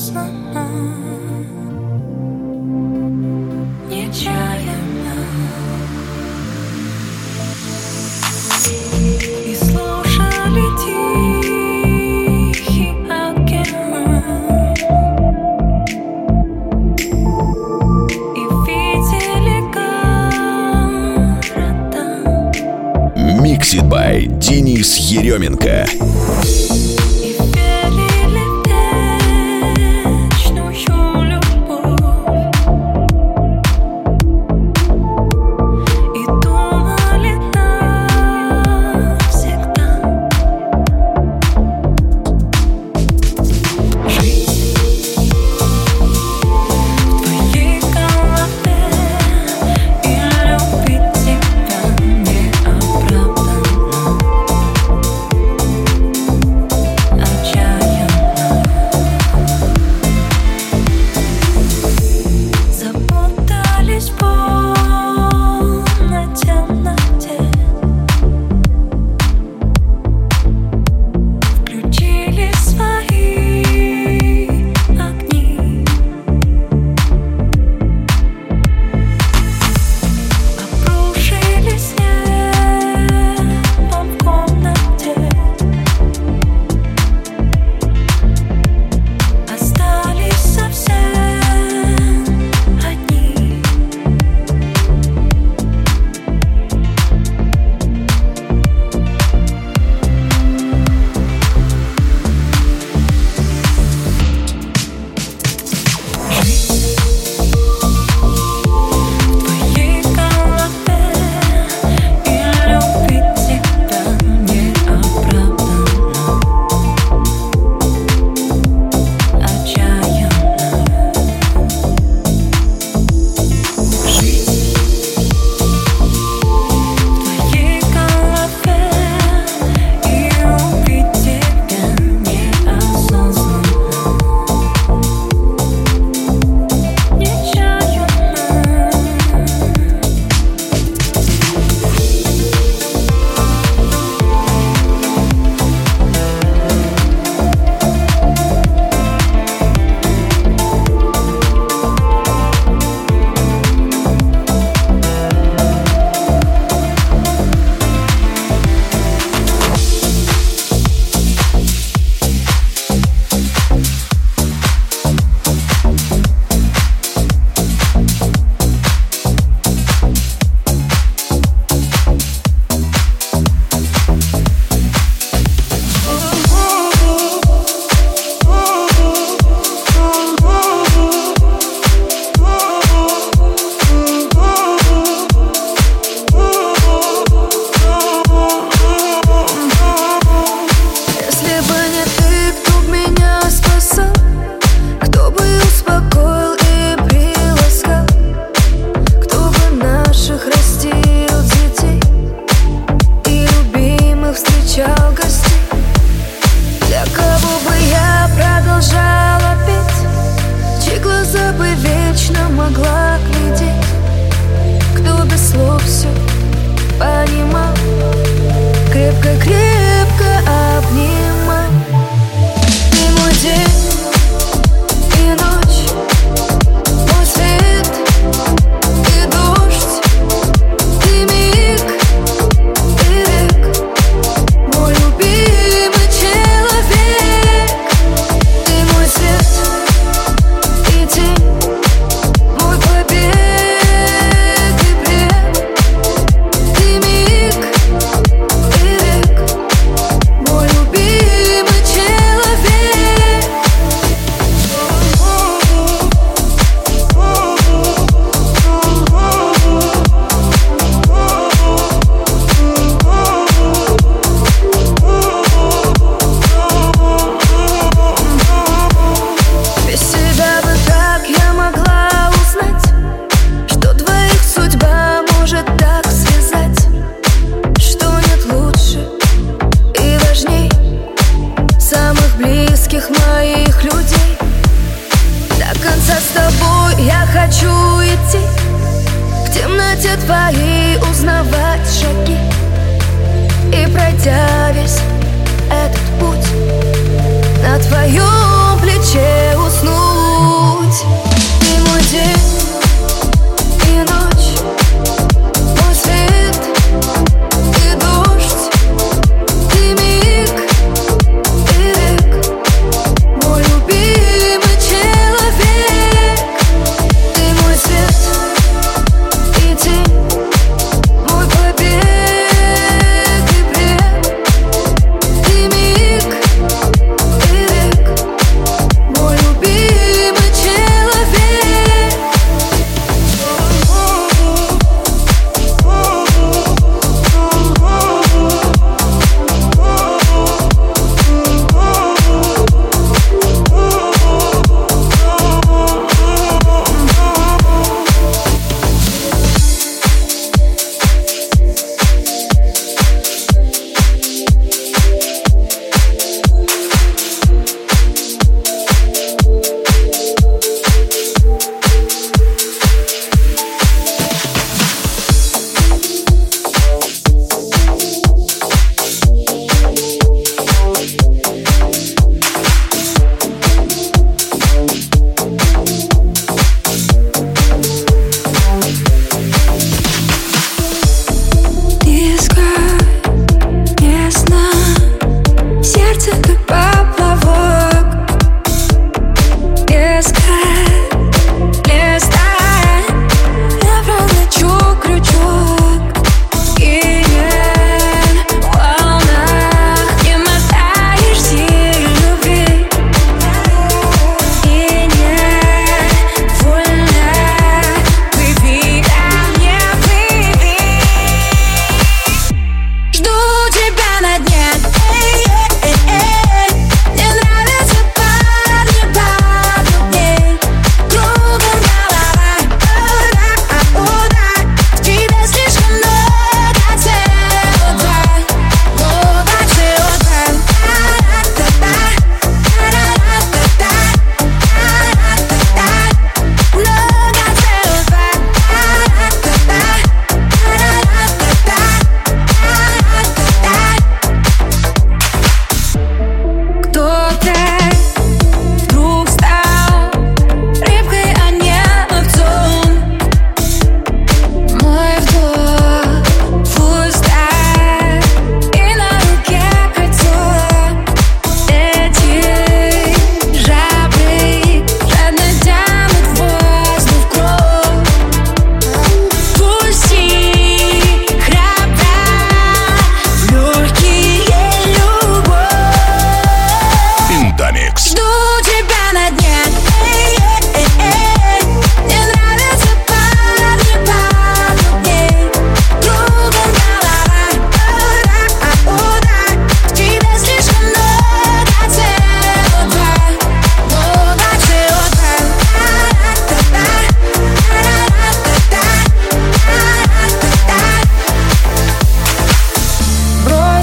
неосознанно, нечаянно. И слушали тихий океан, и видели города. Mixed by Денис Еременко. Могла глядеть, кто без слов все понимал, крепко-крепко обнимал. Ты мой день и ночь, мой свет и дождь, ты миг и век, мой любимый человек. Ты мой свет и тень, моих людей. До конца с тобой я хочу идти, в темноте твоей узнавать шаги, и пройдя весь этот путь, на твоем плече усну.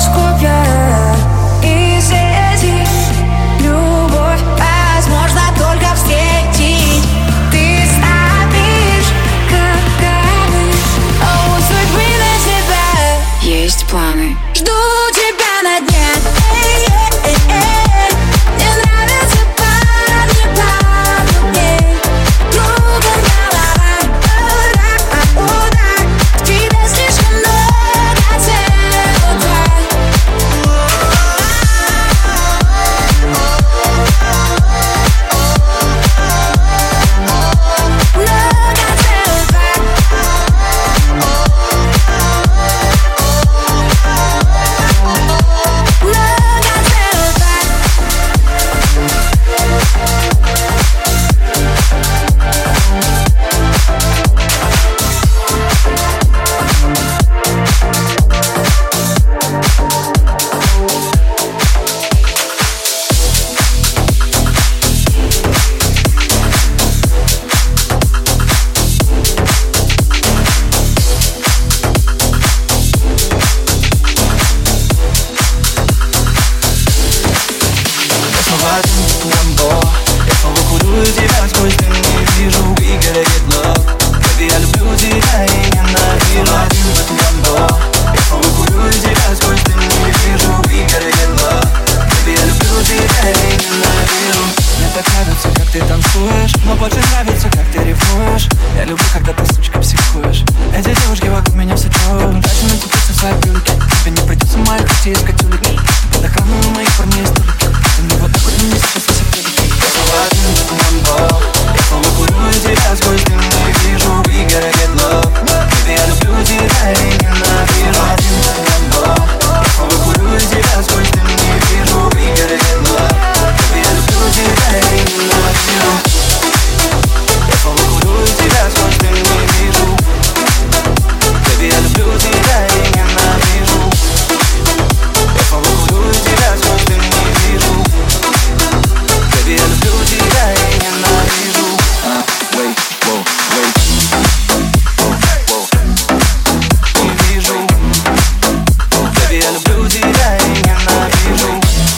копья и сети. Любовь возможно только встретить. Ты ставишь капканы, а у судьбы на тебя есть планы. Жду тебя на дне. Мне нравятся парни помней. Кругом голова, удар. В тебе слишком много темнота. Но больше нравится, как ты ревнуешь. Я люблю, когда ты, сучка, психуешь. Эти девушки вокруг меня все чуют. Дальше натупиться в своей пюльке. Тебе не придется моих пути искать улики. Под охраной у моих парней столики. Ты мне вот так вот мне сейчас все пюльки. Я снова один, Ламбо. Я снова курю тебя сквозь дым. Не вижу, we gotta get love. Baby, я люблю тебя и ненавижу. Один, Ламбо. Я снова курю тебя сквозь дым. Не вижу, we gotta get love. Baby, я люблю тебя и ненавижу. Я снова курю тебя сквозь дым. Не вижу. Baby, я люблю тебя и ненавижу. Я снова курю тебя сквозь дым. Не вижу. Baby, я люблю тебя и ненавижу. Wait, whoa, wait. Не вижу. Baby, я люблю тебя и ненавижу.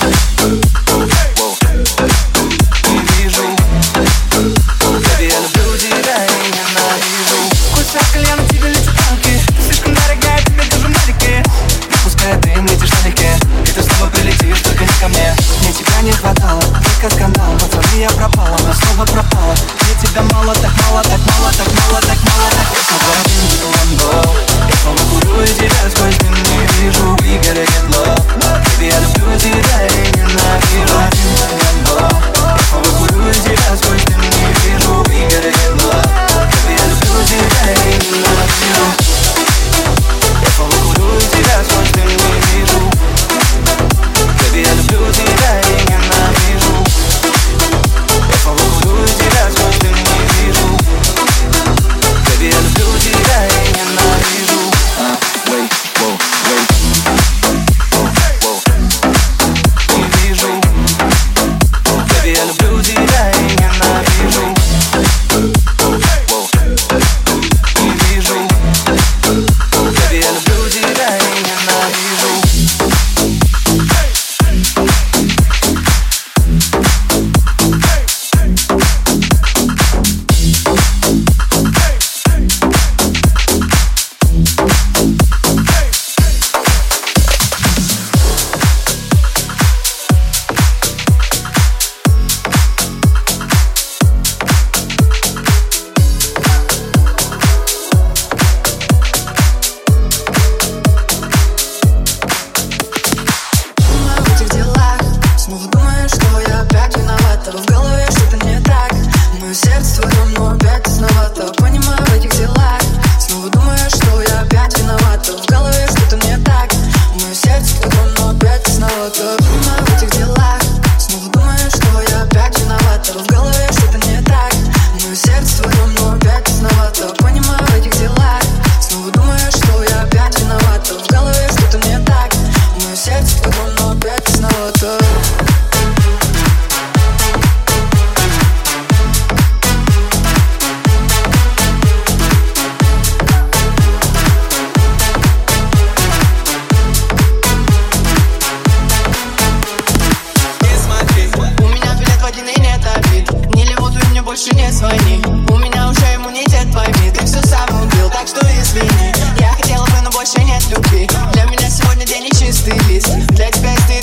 Не вижу. Baby, я люблю тебя и ненавижу. Кусок кальяна, тебе летят танки. Ты слишком дорогая, тебе тоже марики. Пускай дым, летишь налегке. И ты снова прилетишь, только не ко мне. Мне тебя не хватало, только скандал. Пацаны, я пропала, но снова пропала. Мне тебя мало, так мало, так мало, так мало, так мало, так. Я снова один, Ламбо. Я снова курю тебя сквозь дым. Не вижу, we gotta get love. Baby, я люблю тебя и ненавижу. Один, Ламбо. Я снова курю тебя сквозь дым. Не вижу, we gotta get love. Baby, я люблю тебя и ненавижу. Я снова курю тебя сквозь дым. Не вижу. Baby, я люблю тебя и ненавижу. Я снова курю тебя сквозь дым. Не вижу. Baby, я люблю тебя и ненавижу. Wait, whoa, wait.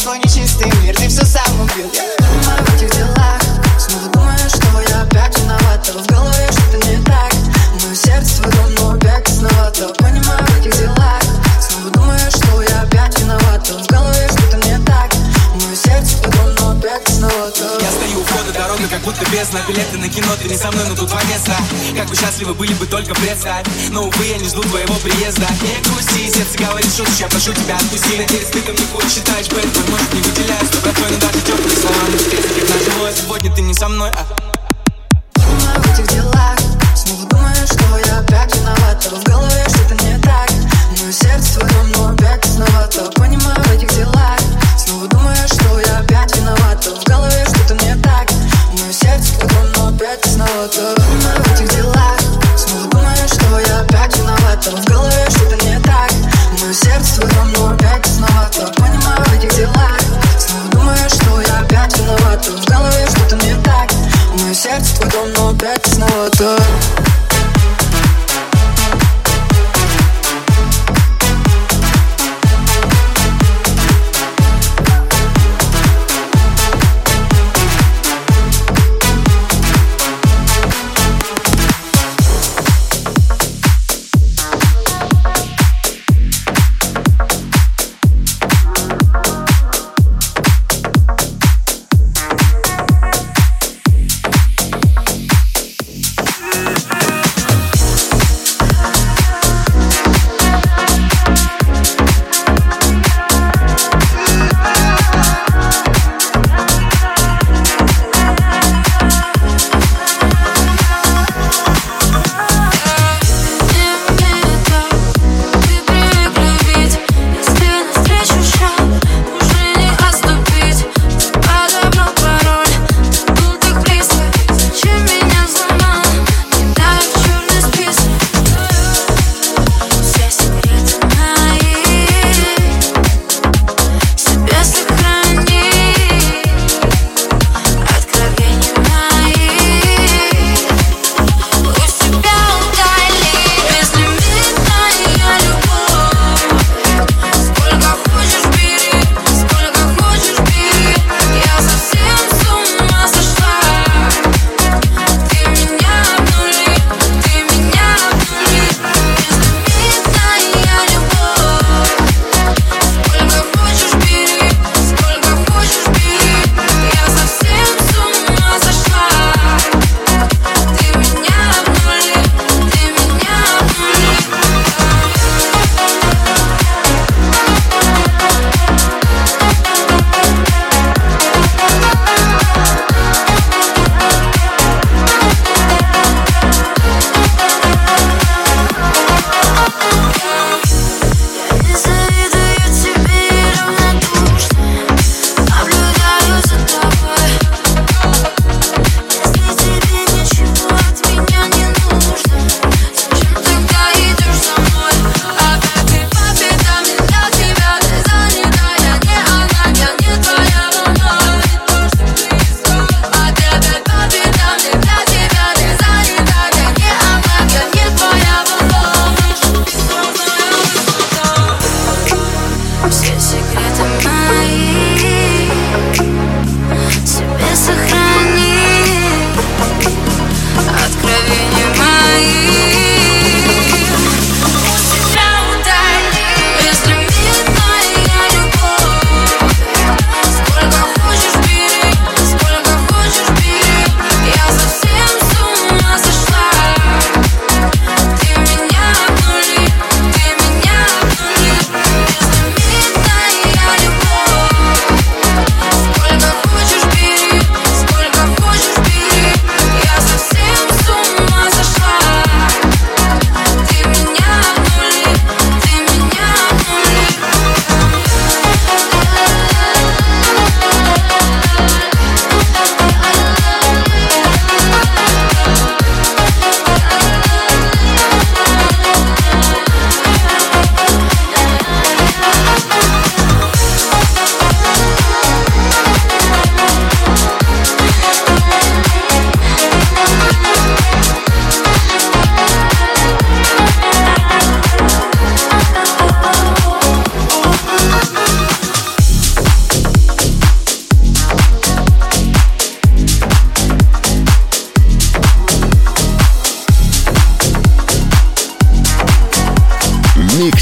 свой нечистый мир, ты все сам убил. Я понимаю в этих делах, снова думаю, что я опять виновата. В голове что-то не так, мое сердце твой дом, но опять тесновато. Понимаю в этих делах, снова думаю, что я опять виновата. В голове что-то не так, мое сердце твой дом, но опять тесновато. Я стою у входа, дорога как будто бездна. Билеты на кино, ты не со мной, но тут два места. Как бы счастливы были бы, только представь. Но, увы, я не жду твоего приезда. Не грусти, сердце говорит шуточку, я прошу тебя отпусти. Надеюсь, ты ко мне хоть считаешь бэтмен. Может, не выделяюсь, но братой, но даже теплые слова мы встретили как нажило. Сегодня ты не со мной, Понимаю в этих делах, снова думаю, что я опять виновата. В голове что-то не так, мое сердце твой дом, но опять тесновато. Понимаю в этих делах, снова думаю, что я опять виновата. В голове что-то не так, мое сердце твой дом, но опять тесновато. Понимаю в этих делах, снова думаю, что я опять виновата. В голове что-то не так, мое сердце твой дом, но опять тесновато. Понимаю в этих делах, снова думаю, что я опять виновата. В голове что-то не так, мое сердце твой дом, но опять тесновато.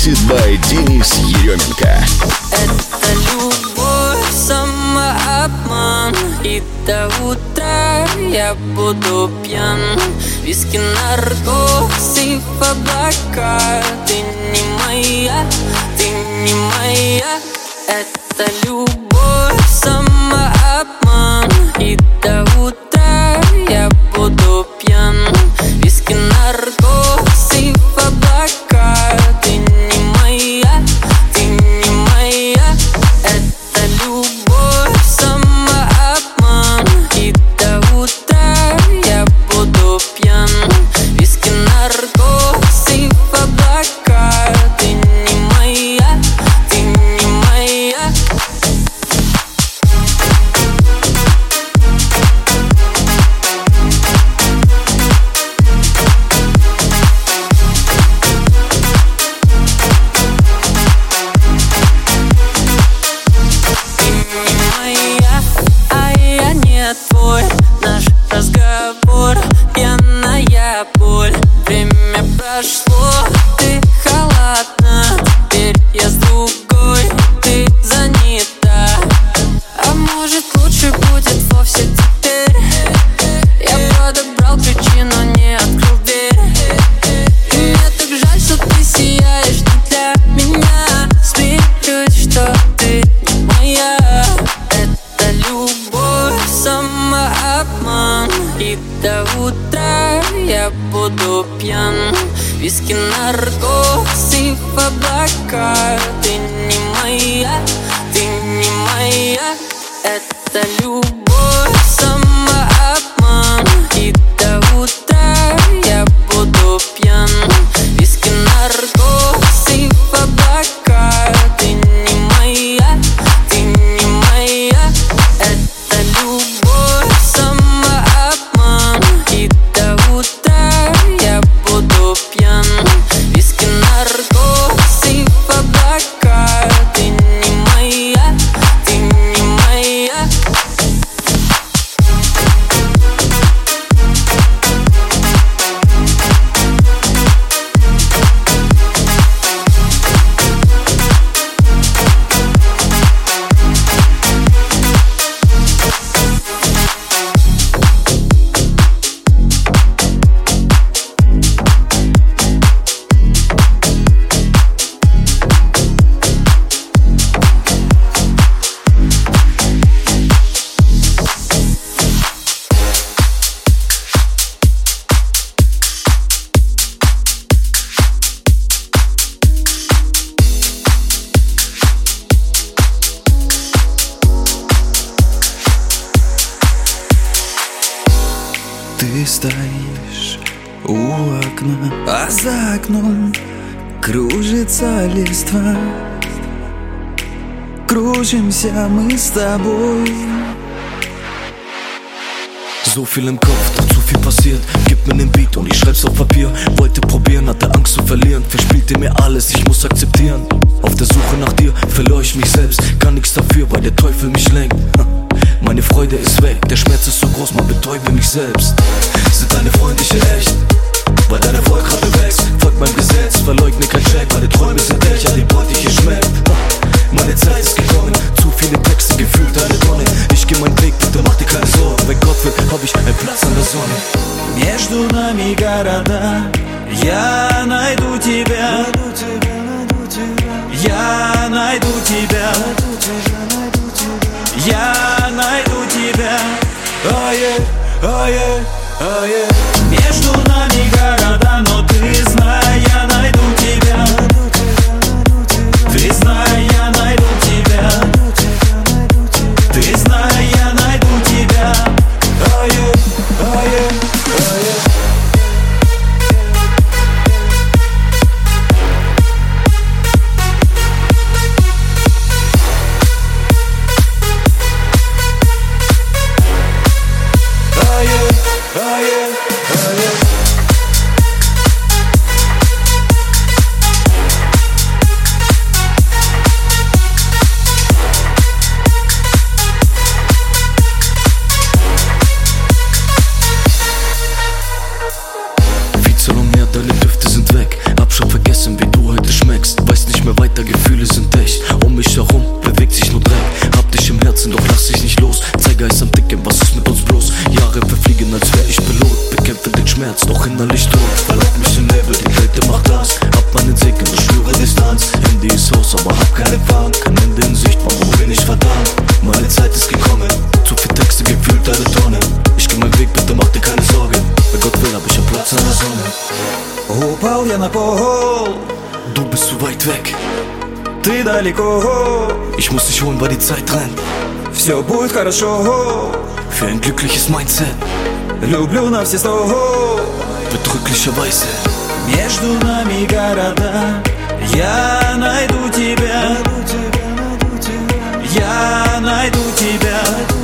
Mixed by Денис Еременко. Это любовь, самообман, и до утра я буду пьян. Виски, наркоз и в облака. Ты не моя, ты не моя. Это любовь, самообман, и до утра я буду пьян. Виски, наркоз и в облака. Ты не моя, ты не моя. Это любовь, самообман, и до утра я буду пьян. Виски, наркоз и в облака. Ты не моя, ты не моя. Твой наш разговор, пьяная боль. Время прошло, ты холодна. Теперь я с другой, ты занята. А может лучше будет вовсе теперь. Я подобрал ключи, но не открыл дверь. И мне так жаль, что ты сияешь не для меня. Смирюсь, что ты не моя. Это любовь, самообман, и до утра я буду пьян. Виски, наркоз и в облака. Ты не моя, ты не моя. Это любовь, самообман, и до утра я буду пьян. Виски, наркоз и в облака. Ты не моя, ты не моя. Это любовь, самообман, и до утра я буду пьян. Виски, наркоз и в облака. Ты не моя, ты не моя. Ты стоишь у окна, а за окном кружится листва. Кружимся мы с тобой. So viel im Kopf, doch zu viel passiert. Gib mir den Beat und ich schreib's auf Papier. Wollte probieren, hatte Angst zu verlieren. Verspielte mir alles, ich muss akzeptieren. Auf der Suche nach dir verlor ich mich selbst. Kann nichts dafür, weil der Teufel mich lenkt. Meine Freude ist weg, der Schmerz ist so groß, man betäube mich selbst. Sind deine Freundliche echt? Weil dein Erfolg gerade wächst. Folgt meinem Gesetz, verleugne kein Check. Meine Träume sind echt, an die Beute hier schmeckt. Meine Zeit ist gekommen, zu viele Texte, gefühlt eine Tonne. Ich geh meinen Weg, bitte mach dir keine Sorgen. Wenn Gott will, hab ich einen Platz an der Sonne. Между нами города, я найду тебя. Я найду тебя. Я найду тебя. Между нами города, но ты знай, я найду тебя. Ты знай, я найду тебя. Ты знай, я найду тебя. zieht sich nur Dreck. Hab dich im Herzen, doch lass dich nicht los. Zeigeist am Dicken, was ist mit uns bloß? Jahre verfliegen, als wär ich Pilot. Bekämpfe den Schmerz, doch innerlich tot. Verlauf mich in Nebel, die Kälte macht das. Hab meinen Segen, ich spüre Distanz. Handy ist aus, aber hab keinen Empfang. Kein Ende in Sicht, warum bin ich verdammt? Meine Zeit ist gekommen, zu viel Texte, gefühlt eine Tonne. Ich geh meinen Weg, bitte mach dir keine Sorgen. Wer Gott will, hab ich einen Platz an der Sonne. Упал я на пол, Du bist zu weit weg, ты далеко. ich muss dich holen, weil die Zeit rennt. Все будет хорошо, Für ein glückliches Mindset, люблю на все 100. bedrücklicherweise. Между нами города, я найду тебя. Я найду тебя.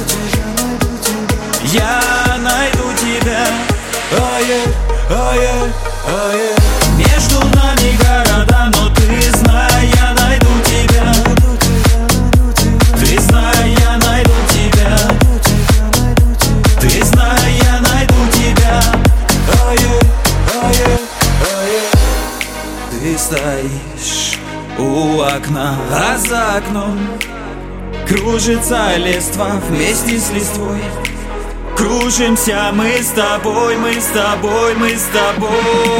Я найду тебя. Между нами города, но ты знай, я найду тебя. Ты знай, я найду тебя. Ты знай, я найду тебя. Ты стоишь у окна, а за окном кружится листва вместе с листвой. Кружимся мы с тобой, мы с тобой, мы с тобой.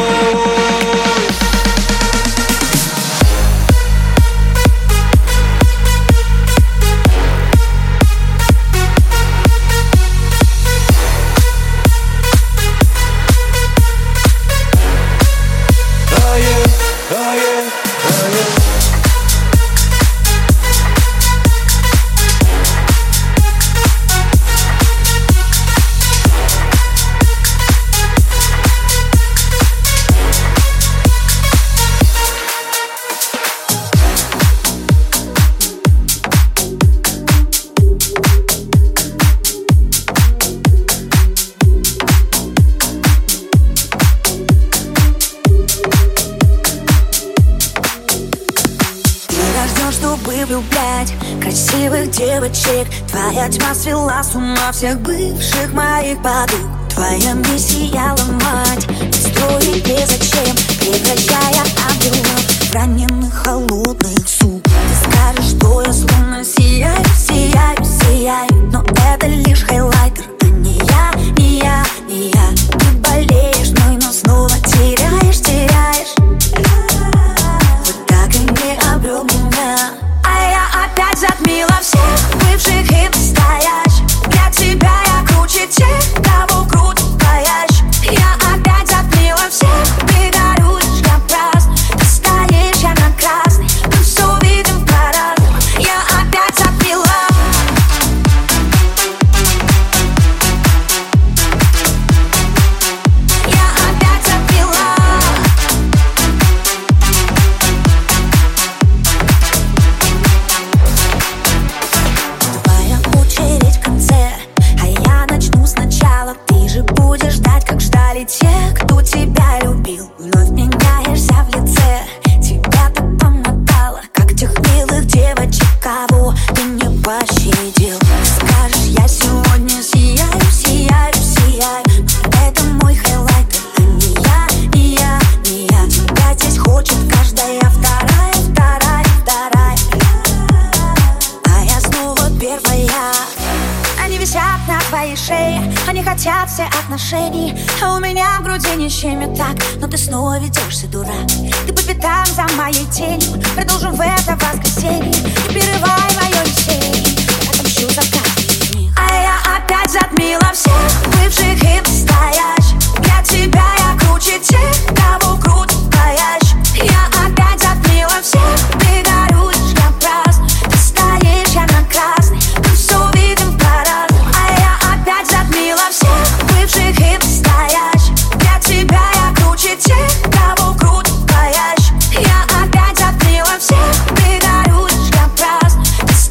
Чтобы влюблять красивых девочек, твоя тьма свела с ума всех бывших моих подруг. Твоя миссия ломать строить незачем, превращая ангелов в раненых холодных суп. Ты скажешь, что я словно сияю, сияю, сияю, но это лишь хайлайтер, а не я, не я, не я. Ты болеешь мной, но снова теряешь, теряешь. Вот так и не обрел меня. Опять затмила всех бывших и настоящих. Для тебя я круче тех, кого крутит твоящ. Я опять затмила всех, ты горюешь, я праздную. Ты стоишь, я на красный, мы все видим по-разному. Я опять затмила. Я опять затмила. Твоя очередь в конце, а я начну сначала. Ты же будешь ждать, как ждали те, кто тебя любил. Вновь меняешься в лице, тебя так помотало, как тех милых девочек, кого ты не пощадил. Скажешь, я сегодня сияю, сияю, сияю, но это мой хайлайтер, а не я, не я, не я. Тебя здесь хочет каждая вторая, вторая, вторая. А я снова первая. Они висят на твоей шее, они хотят все отношений, а у меня в груди не щемит так. Но ты снова ведешься, дурак. Ты по пятам за моей тенью. Продолжим в это воскресенье. Не прерывай мое веселье, я отомщу за каждый из них. А я опять затмила всех бывших и настоящих. Для тебя я круче тех, кого крутит твоящ. Я опять затмила всех, ты горюешь, я праздную. Ты стоишь, я на красный, мы все видим по-разному. А я опять затмила всех бывших и настоящих. Для тебя я круче тех, кого крутит твоящ. Я опять затмила всех, ты горюешь, я праздную. Ты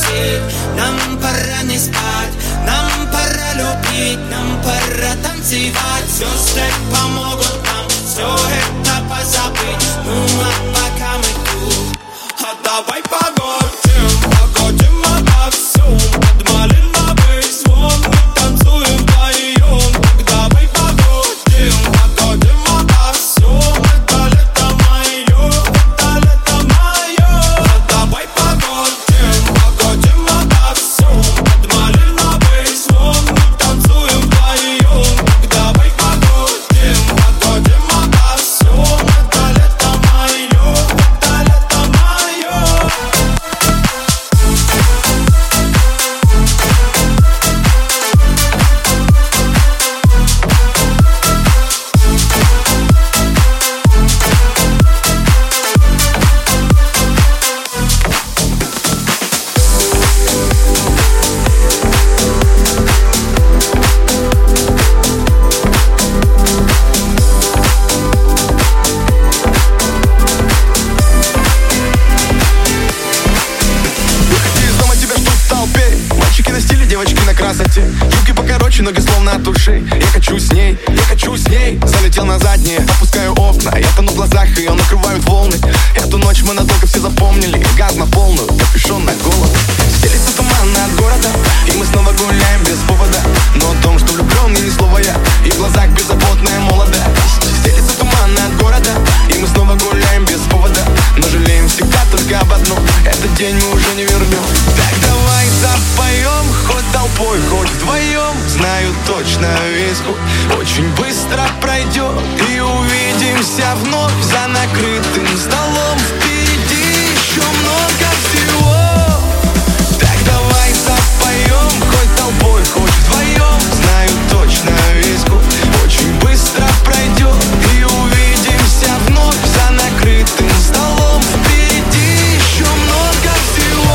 летит. Нам пора не спать, нам пора любить, нам пора танцевать. Звезды помогут нам все это позабыть. Ну а пока мы тут, а давай погодим, погодим обо всем. Под малиновый звон мы танцуем вдвоем. Так давай погодим, погодим обо всем. Это лето мое, это лето мое. А давай погодим, погодим обо всем. Под малиновый звон мы танцуем вдвоем. Так давай погодим, погодим обо всем. Это лето мое, это лето мое. Выходи из дома, тебя ждут в толпе. Мальчики на стиле, девочки на красоте. Юбки покороче, ноги словно от ушей. Я хочу с ней, я хочу с ней. Залетел на заднее, опускаю окна. Я тону в глазах, ее накрывают волны. Эту ночь мы надолго все запомнили. Газ на полную, капюшон на голову. Стелится туман над городом, и мы снова гуляем без повода. Но о том, что влюблен, ни слова я. И в глазах беззаботная молодость. Стелится туман над городом, и мы снова гуляем без повода. Но жалеем всегда только об одном: этот день мы уже не вернем. Так давай запоем, хоть толпой, хоть вдвоем. Знаю точно, весь путь очень быстро пройдет, и увидимся вновь за накрытым столом. Впереди еще много всего. Так давай запоем, хоть толпой, хоть вдвоем. Знаю точно, весь путь очень быстро пройдет, и увидимся вновь за накрытым столом. Впереди еще много всего.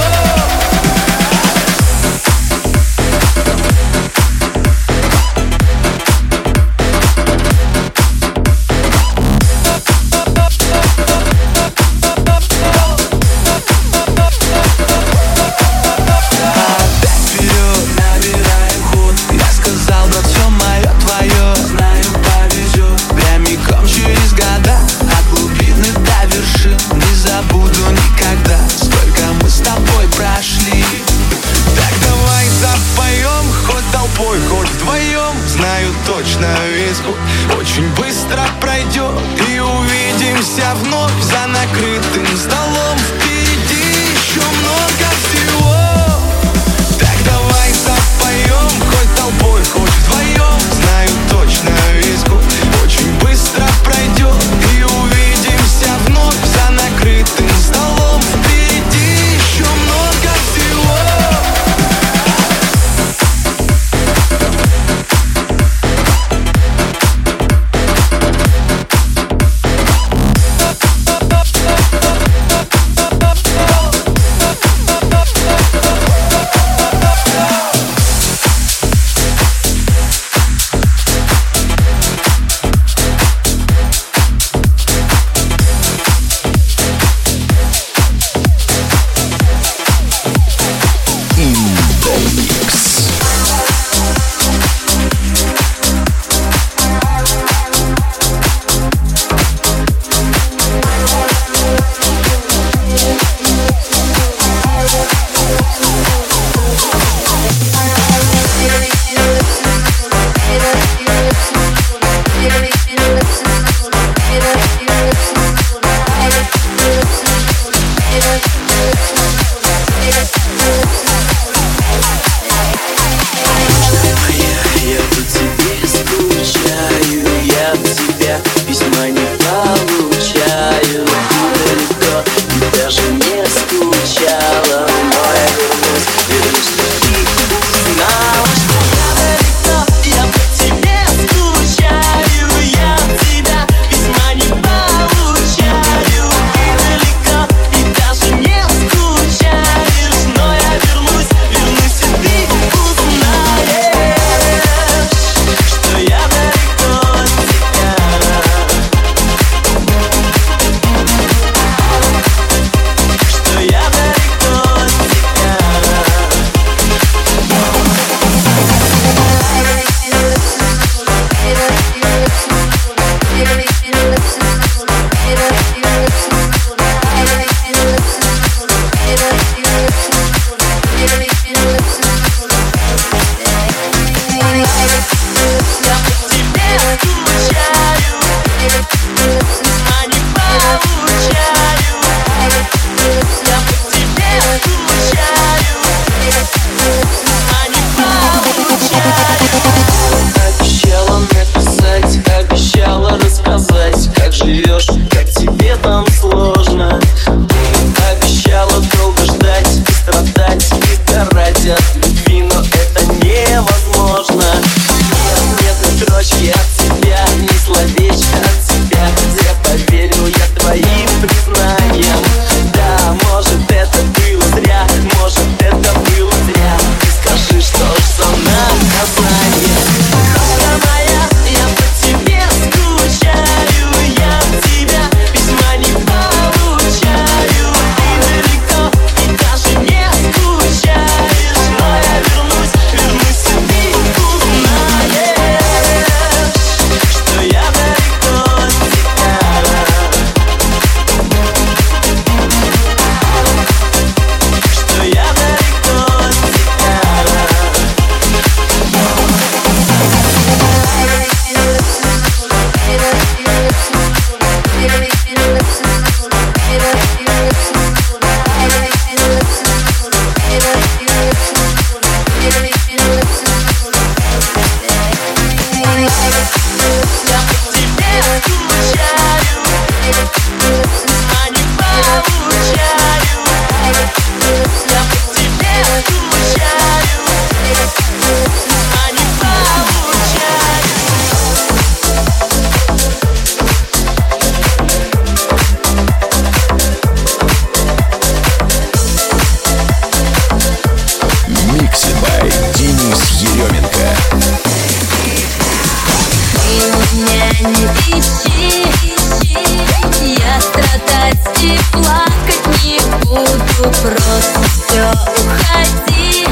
буду, просто все, уходи.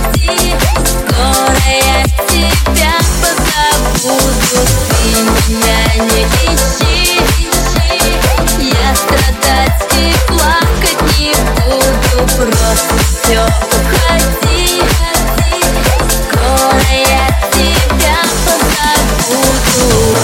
Скоро я тебя позабуду. Ты меня не ищи. Я страдать и плакать не буду, просто все, уходи. Скоро я тебя позабуду.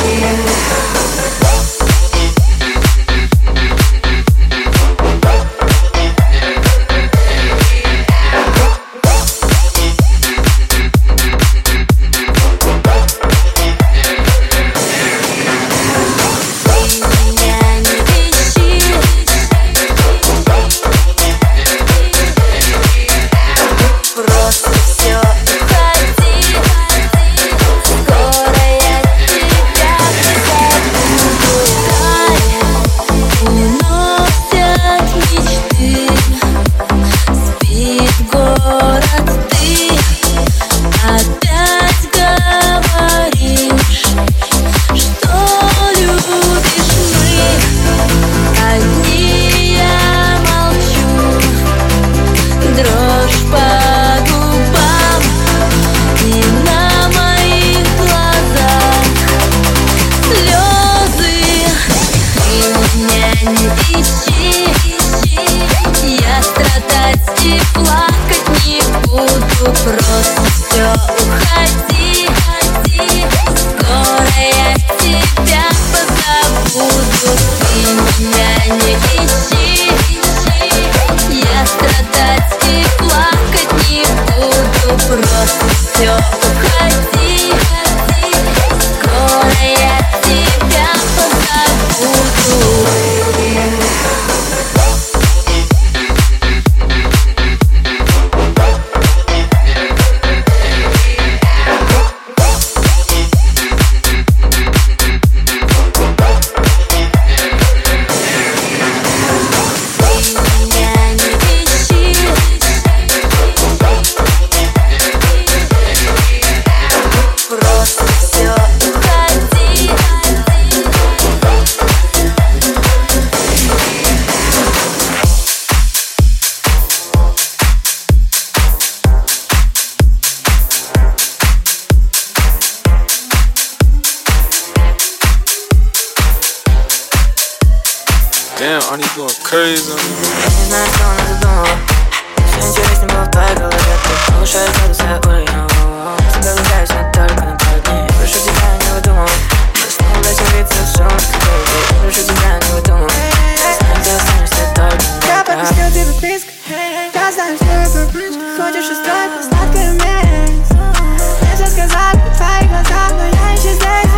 Damn, Arnie going crazy on me. Я не знаю, что она задумала. Все интереснее было в твоей голове. Ты повышаешь градус, я уровень. Тебя влюбляюсь, но только на пару дней. Прошу тебя, не выдумывай. Мы снова веселиться, все у нас как прошу тебя, не выдумывай. Знаю, ты останешься только на я пропустил тебя близко. Я знаю, что это близко. Хочешь устроить на сладкое место. Мне все сказали в твоих глазах, но я еще здесь.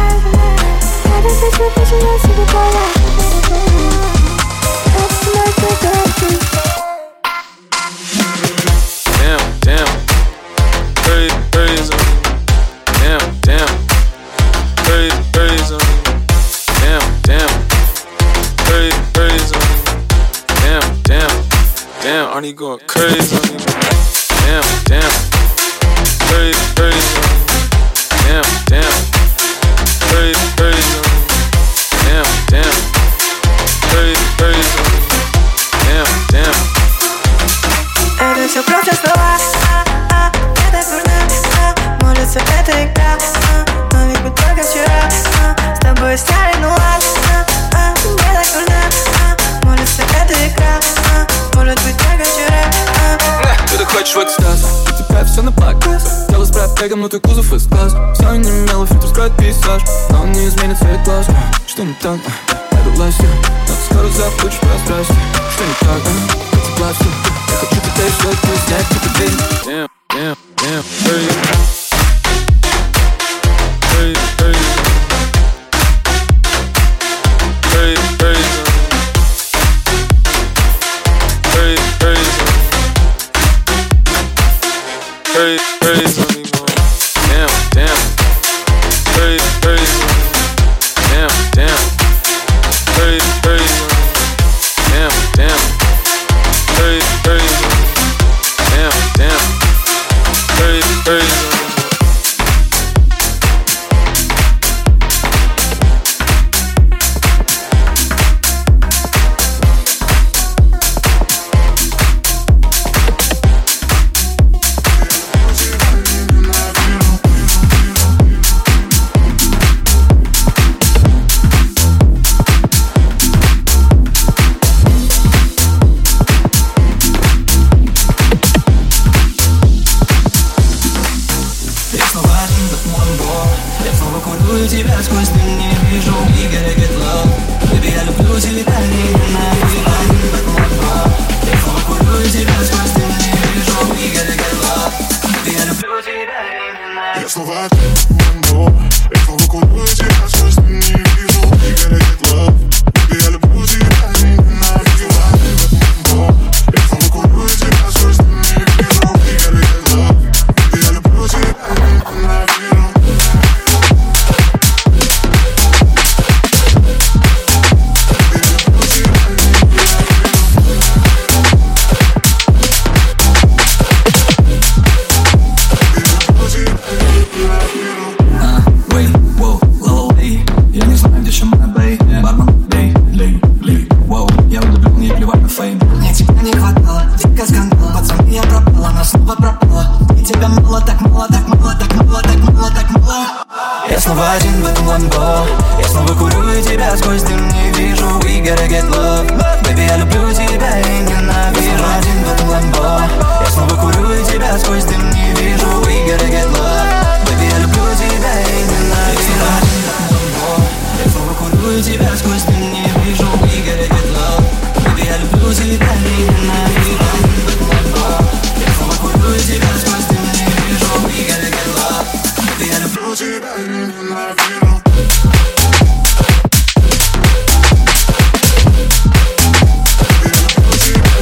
Я без тебя начинаю себе понять. Damn, crazy on me. Damn, crazy on me. Damn, crazy on me. Damn, Arnie going crazy on me. Damn, crazy on me. Damn, crazy on me. Damn, crazy on me. Damn. Это все просто слова, это дурно, может все это игра, но ведь мы только вчера с тобой сняли нуар. Мне так дурно, может все это игра, может быть только вчера. Ты хочешь в экстаз, у тебя все на показ. Дело с пробегом, но ты кузов из глаз. Все не имело, фильтр скроет пейзаж, но он не изменит цвет глаз. Что не так? Это властью, но ты скоро забудешь про страсти. Что не так? Это властью. Я хочу теперь что-то снять, типа день. Damn, crazy on me, boy. Damn, crazy on me. Damn, crazy on me. Damn, crazy on me. Damn, crazy on me. снова Ламбо. Я снова курю тебя сквозь дым, не вижу. We gotta get love. Baby, я люблю тебя и ненавижу. Ламбо. Я снова курю тебя сквозь дым, не вижу. We gotta get love. Baby, я люблю тебя и ненавижу. Я снова один в этом ламбо. Я снова курю и тебя сквозь дым не вижу. We gotta get love. Baby, я люблю тебя и ненавижу. Я снова один в этом ламбо. Я снова курю и тебя сквозь дым не вижу. We gotta get love. Baby, я люблю тебя и ненавижу. Я снова курю и тебя сквозь дым не вижу. We gotta get love. Baby, я люблю тебя и ненавижу. Я снова курю и тебя сквозь дым не вижу. We gotta get love. Baby, я люблю тебя и ненавижу. Baby,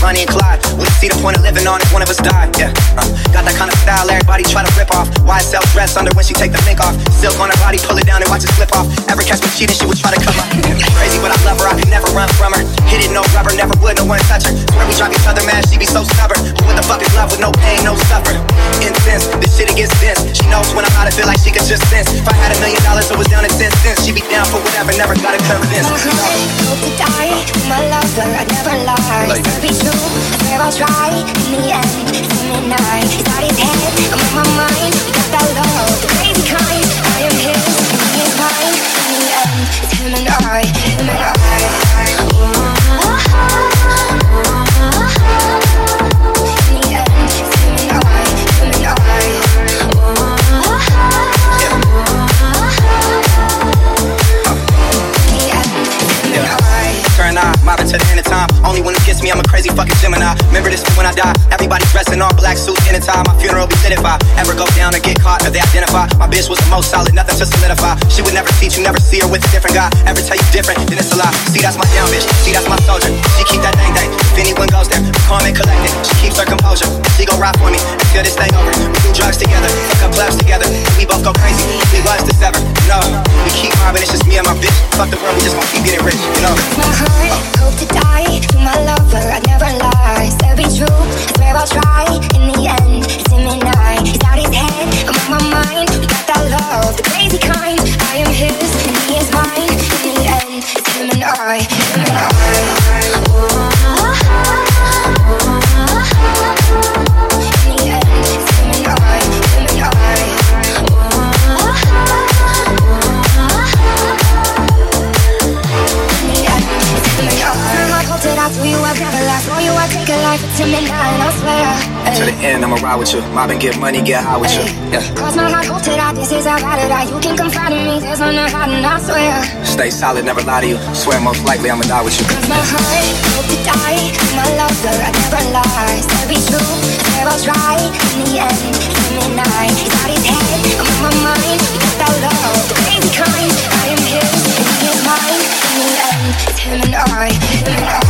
Bonnie and Clyde. Wouldn't see the point of living on if one of us died. Yeah, got that kind of style everybody try to rip off. YSL dress under when she take the mink off. Silk on her body, pull it down and watch it slip off. Ever catch me cheating, she would try to come up. Crazy, but I love her, I could never run from her. Hit it, no rubber, never would, no one touch her. Swear we drive each other mad, she be so stubborn. But what the fuck is love with no pain, no suffer? Intense, this shit it gets dense. She knows when I'm out, I feel like she could just sense. If I had $1 million, it was down to 10 cents. She be down for whatever, never gotta convince. Hope to die, my lover, I'd never lie. To be true, I swear I'll try. In the end, it's him and I. He's out his head, I'm on my mind. We got that love, the crazy kind. I am his, and he is mine. In the end, it's him and I. Him and I. In the end, it's him and I. Him and I. Turn on, mobbing to the end of time. Only when it gets me, I'm a crazy fucking Gemini. Remember this when I die. Everybody dressed in all black suits in a tie. My funeral be lit if I ever go down or get caught or they identify. My bitch was the most solid, nothing to solidify. She would never teach you, never see her with a different guy. Ever tell you different, then it's a lie. See, that's my down bitch. See, that's my soldier. She keep that dang. If anyone goes there, calm and collected. She keeps her composure. She gon' ride for me until this day over. We do drugs together, fuck up clubs together. We both go crazy. We was to sever. No, we keep mobbing. It's just me and my bitch. Fuck the world, we just gon' keep getting rich. You know. My heart, hope to die. To my lover, I'd never lie. Still be true, I swear I'll try. In the end, it's him and I. He's out his head, I'm on my mind. We got that love, the crazy kind. I am his, and he is mine. In the end, it's him and I. Him and I. In the end, it's him and I. Him and I. I do you, I've never lied. For you, I take a life. It's him and I swear. To the end, I'ma ride with you. Mobbing, get money, get high with you. Yeah. Cross my heart, hope to die. This is how I ride it out. You can confide in me. There's no hiding, I swear. Stay solid, never lie to you. Swear most likely I'ma die with you. Cross my heart, hope to die. My lover, I'd never lie. Still be true, I swear I'll try. In the end, it's him and I. He's out his head, I'm on my mind. We got that love, the crazy kind. I am his, and he is mine. In the end, it's him and I. Him and I.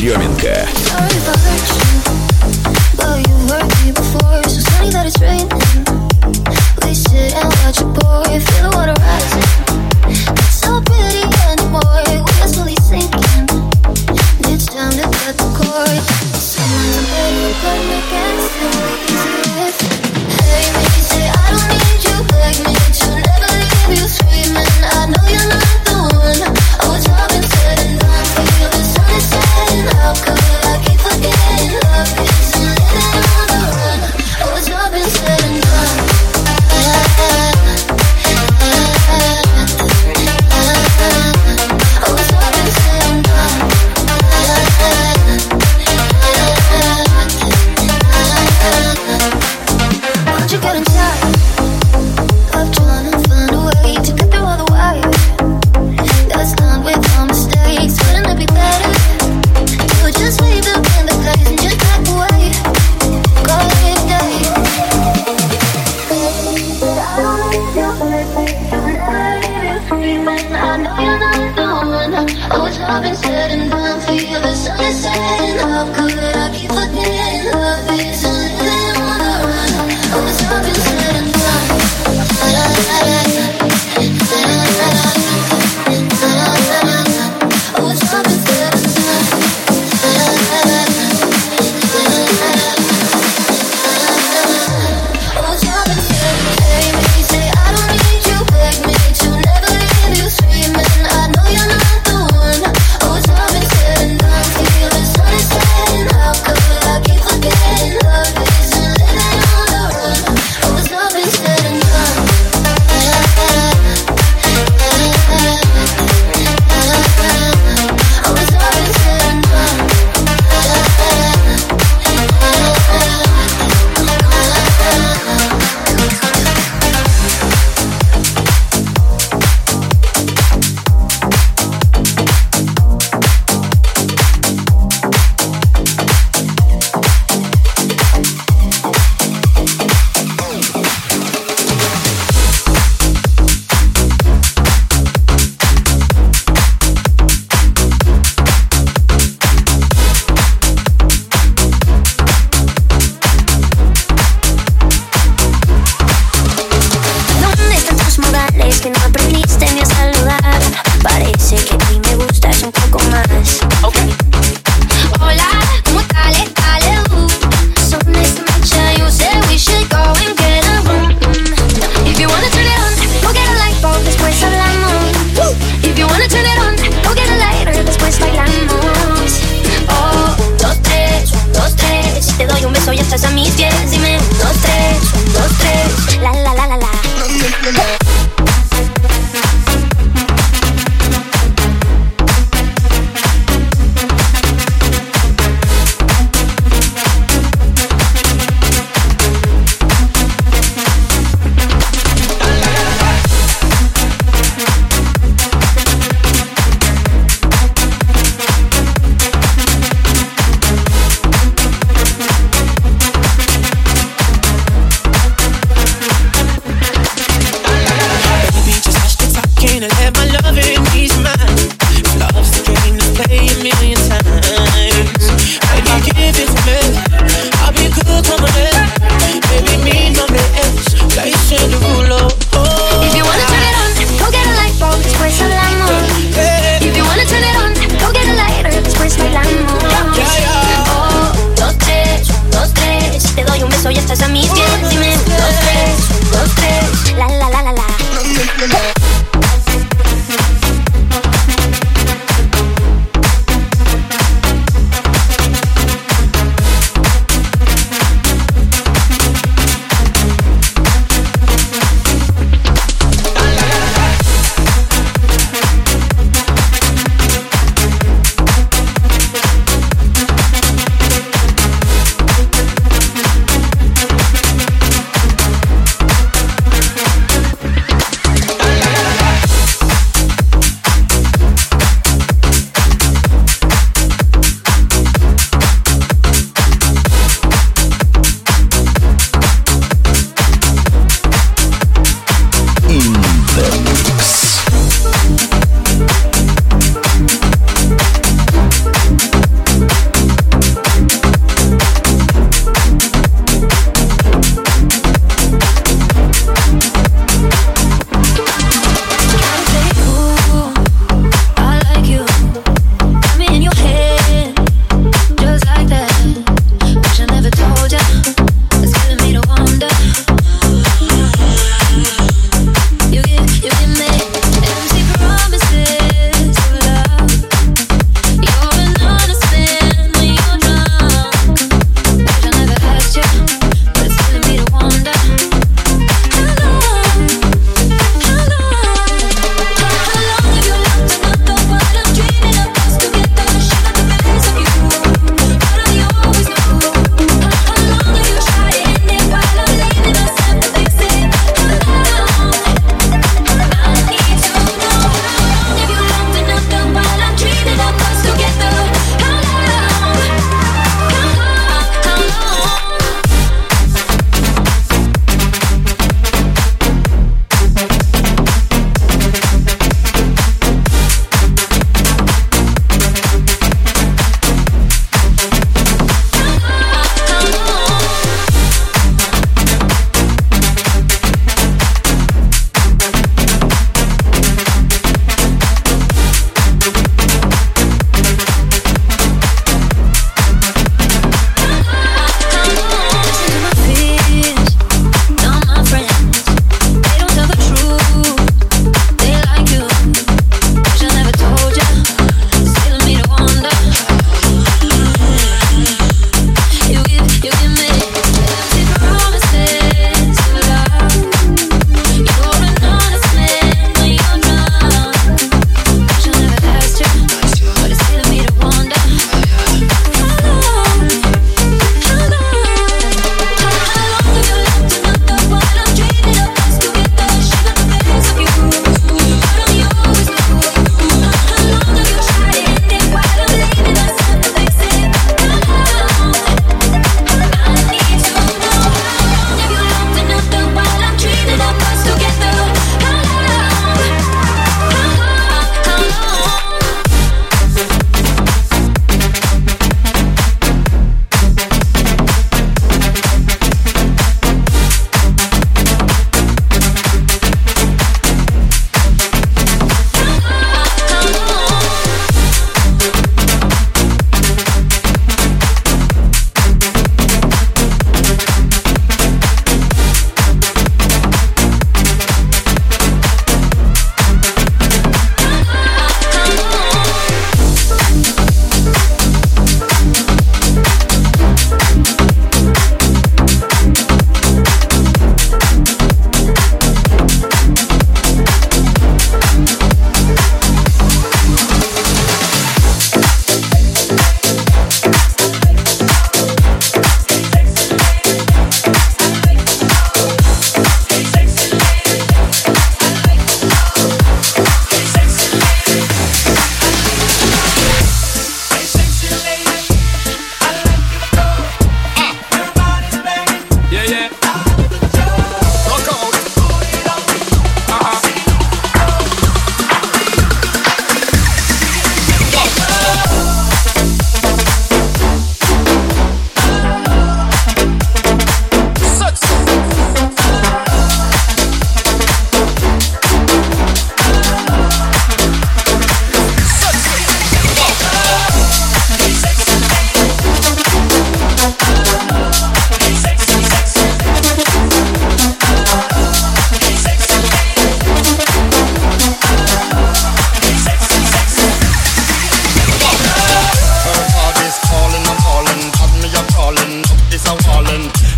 Еременко.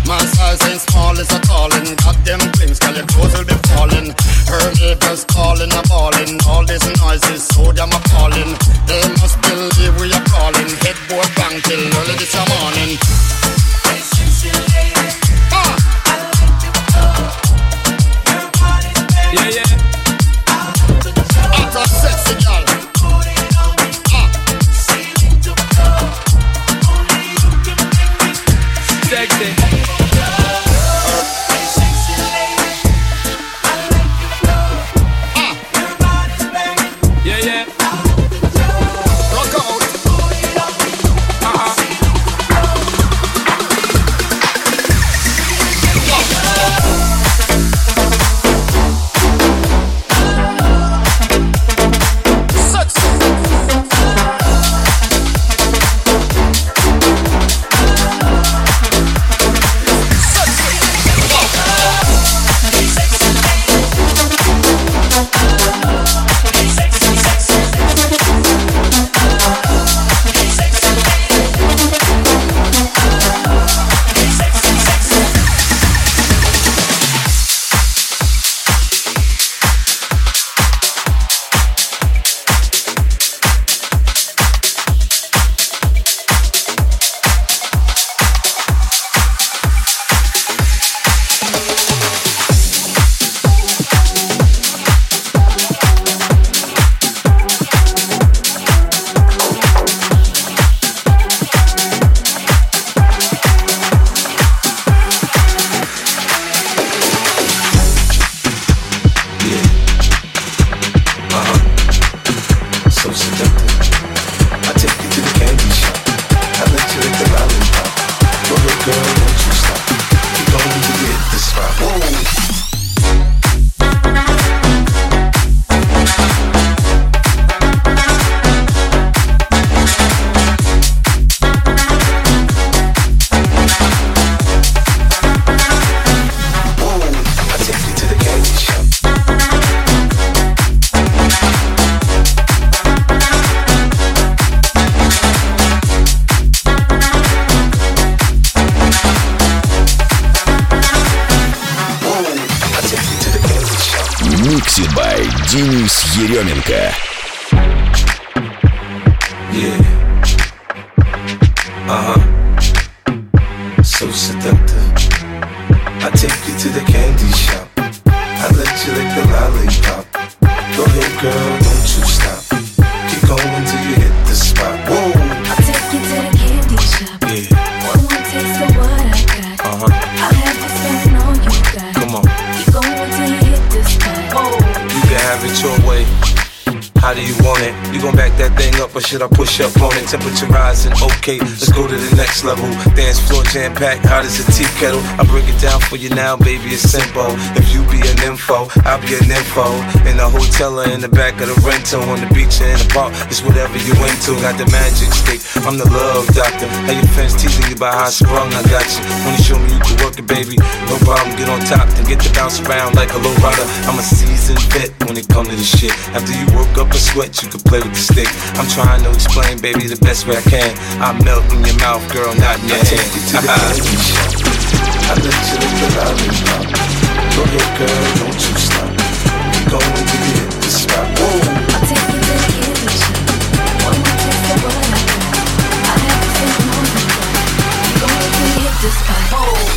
My size ain't small, it's a calling. Got them things, girl, your clothes will be falling. Her neighbors calling, a balling. All these noises, so damn appalling. They must believe we are calling. Headboard bang till early this morning. Hey, sexy lady, I like you more. Your body's better. Yeah, yeah. I'm a sexy girl. Put it on me. Ceiling to floor. Only you can make me sexy. Денис Еременко. So seductive. I take you to the candy shop. I let you lick the lollipop. Go ahead, girl, don't you stop. Keep going till you hit the spot. Whoa. I'll take you to the candy shop. Yeah. One more taste of what I got. I'll have you spending all you got. Come on. Keep going till you hit the spot. Whoa. You can have it your way. How do you want it? You gon' back that thing up or should I push up on it? Temperature rising, okay, let's go to the next level. Dance floor jam-packed, hot as a tea kettle. I break it down for you now, baby, it's simple. If you be an info, I'll be an info. In the hotel or in the back of the rental, on the beach or in the park, it's whatever you into. Got the magic stick, I'm the love doctor. How your fans teasing you about how I sprung, I got you. Wanna show me you can work it, baby? No problem, get on top, then get to bounce around like a low rider. I'm a seasoned vet when it comes to this shit. After you work up a sweat, you can play with the stick. I'm trying to explain, baby, the best way I can. I melt in your mouth, girl, not in your hand. Take you to the candy shop. I let you lick the lollipop. Go ahead, girl, don't you stop. Keep going till you hit the spot. Whoa. I'll take you to the candy shop. One more taste of what I got. I'll have you spending all you got. Keep going till you hit the spot. Whoa.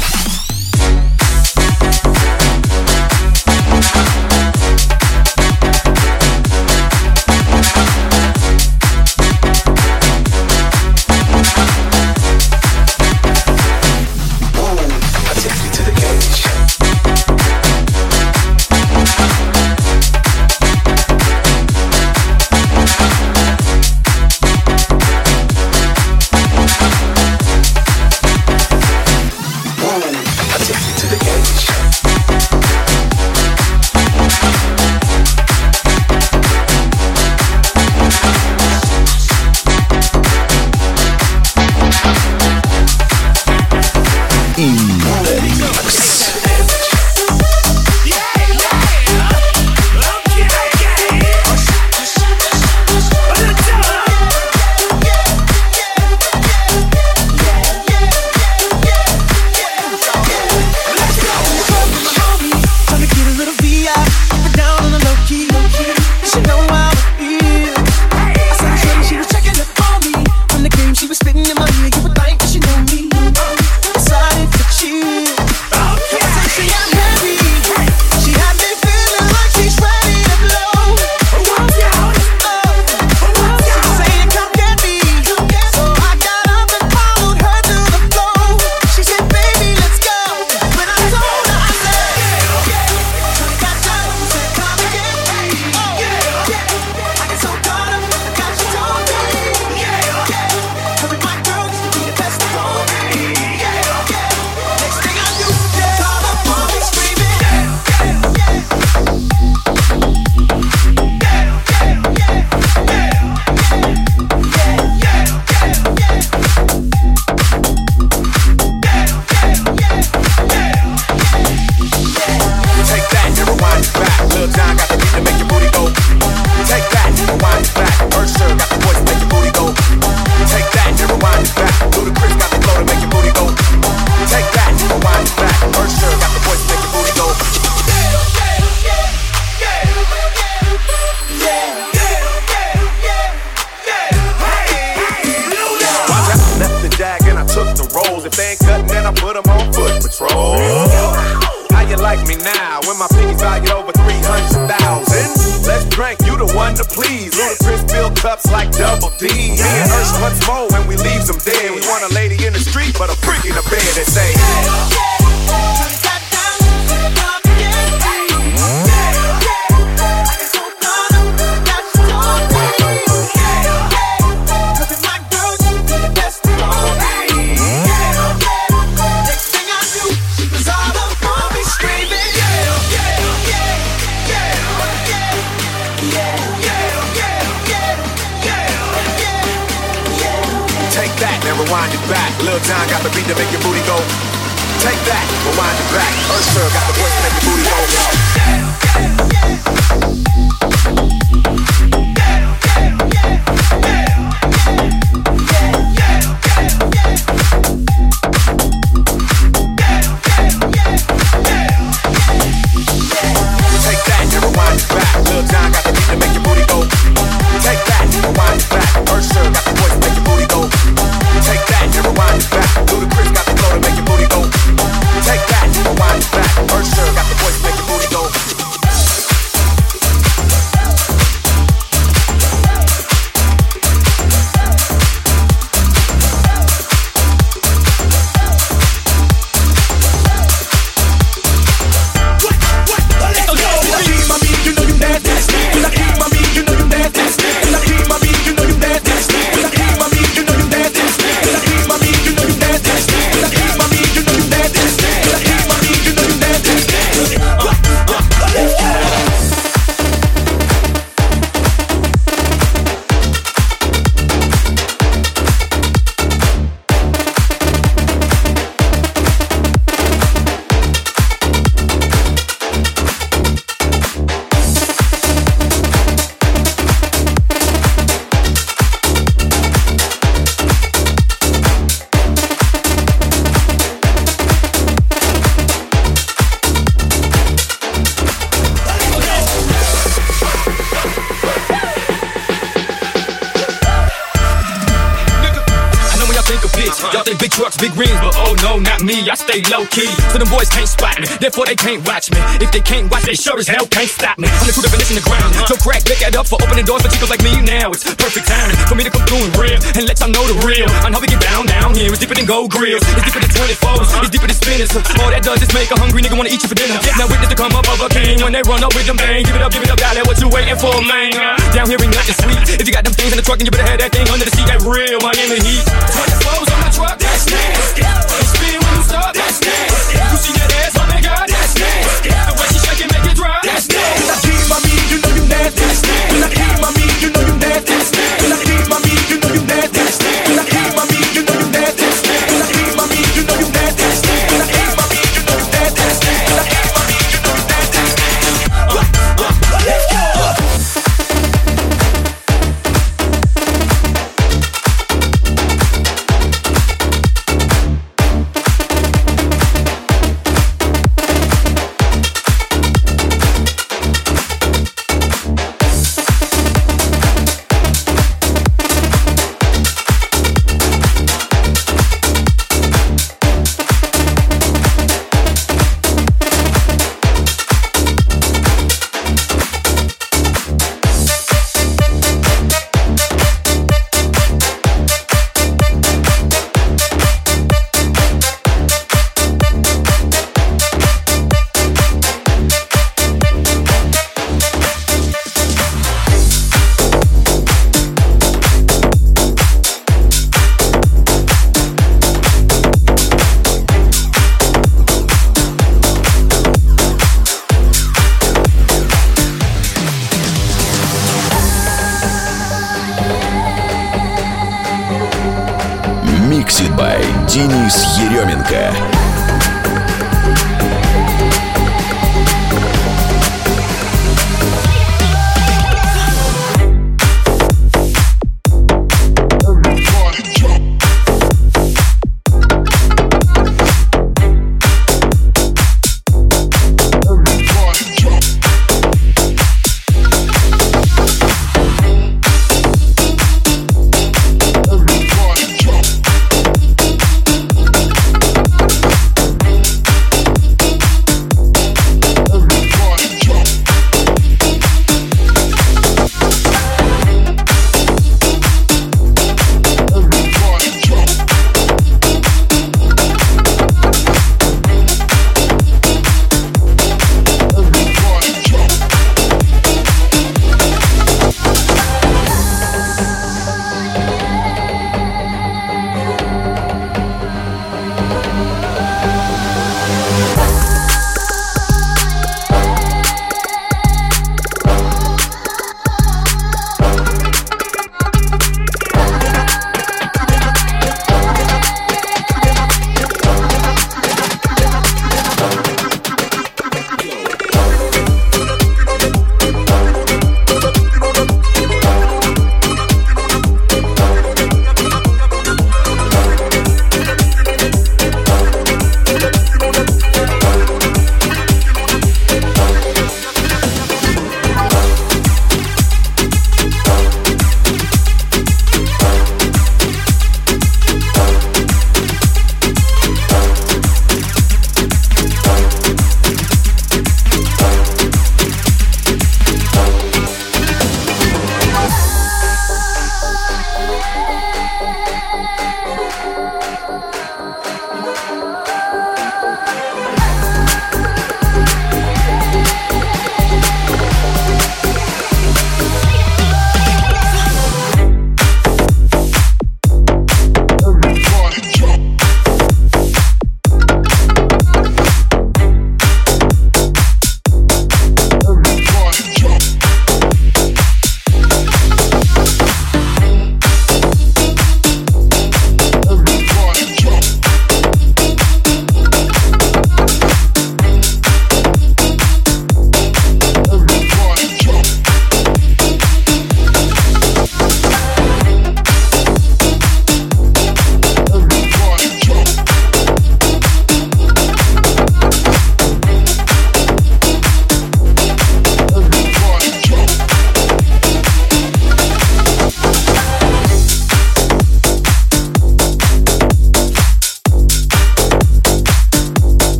How you like me now when my piggy's valued over 300,000? Let's drink, you the one to please. Ludacris fill cups like Double D. Me and Ursh once more when we leave them dead. We want a lady in the street, but a freak in the bed that say. Rewind it back. Lil Jon got the beat to make your booty go. Take that, rewind it back. Usher got the voice to make your booty Take that, rewind it back. Lil Jon got the beat to make your booty go. Take that, rewind it back. Usher got the voice to make your booty go. Take that, rewind it back. Ludacris got the flow to make your booty go. Take that, rewind it back. Usher got the voice to make your booty go. Big rings, but oh no, not me, I stay low-key. So them boys can't spot me, therefore they can't watch me. If they can't watch, they sure as hell can't stop me. I'm the true definition of ground. Joe Crack, pick that up for opening doors for chicos like me now. It's perfect timing for me to come through and real and let y'all know the real. On how we get down here, it's deeper than gold grills. It's deeper than 24s, it's deeper than spinners. All that does is make a hungry nigga wanna eat you for dinner. Now witness to come up of a king when they run up with them bang. Give it up, dollar, what you waiting for, man? Down here ain't nothing sweet. If you got them things in the truck, then you better have that thing under the seat. That real Miami heat. 24s on my truck, that's nasty. Spin when you stop, that's nasty. You see that ass, oh my God, that's nasty. The way she shake it, make it drop, that's nasty. When I keep my meat, you know you nasty. When I keep my meat, you know you nasty. When I keep my meat, you know you nasty. When I keep my meat, you know you nasty. When I keep my meat, you know you nasty. When I keep my meat, you know you nasty. When I keep my meat, you know you nasty. Let's go. Mixed by Денис Еременко.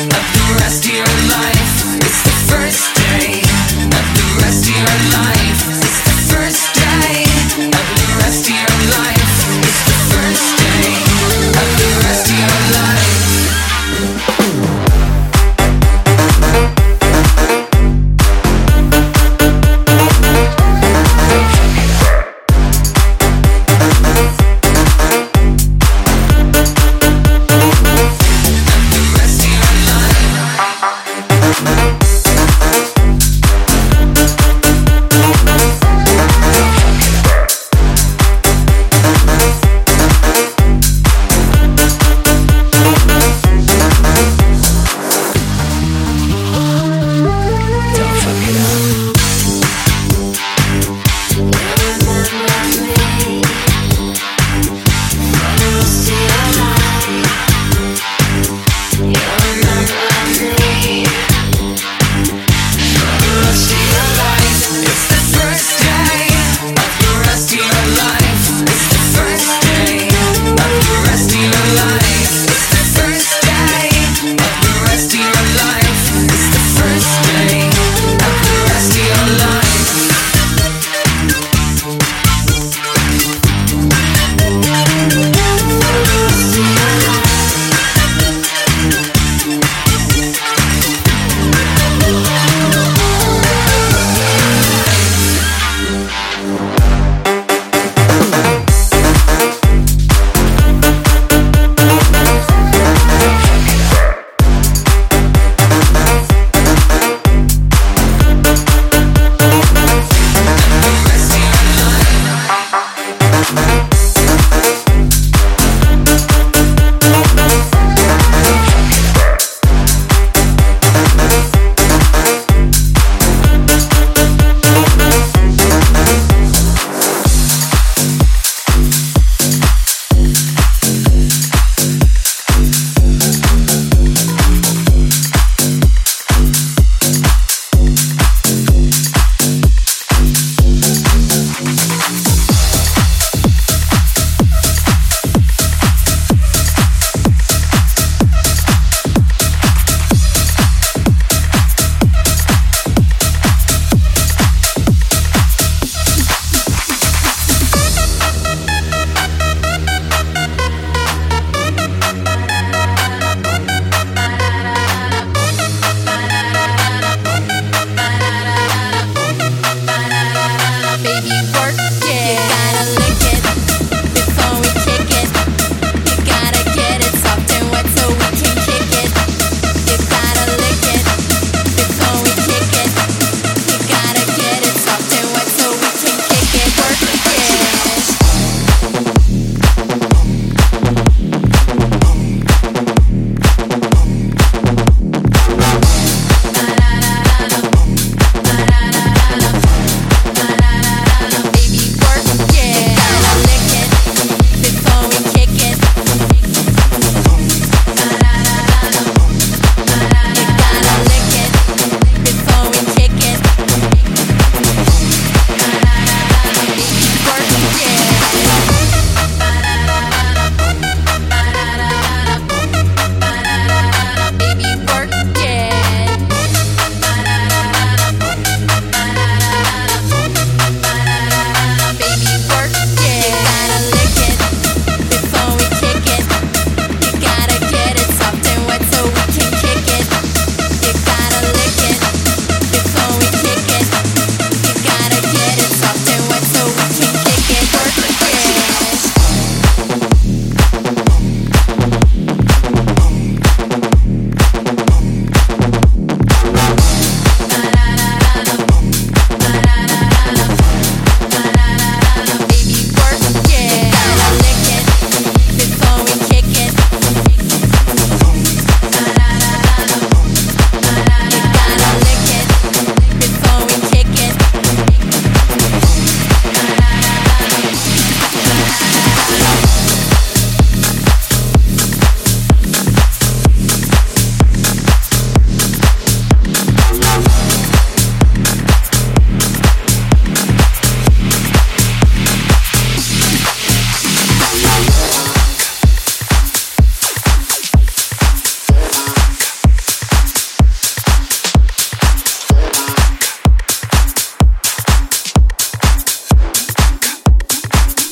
of the rest of your life. It's the first day of the rest of your life. It's the first day of the rest of your life. It's the first day of the rest of your life.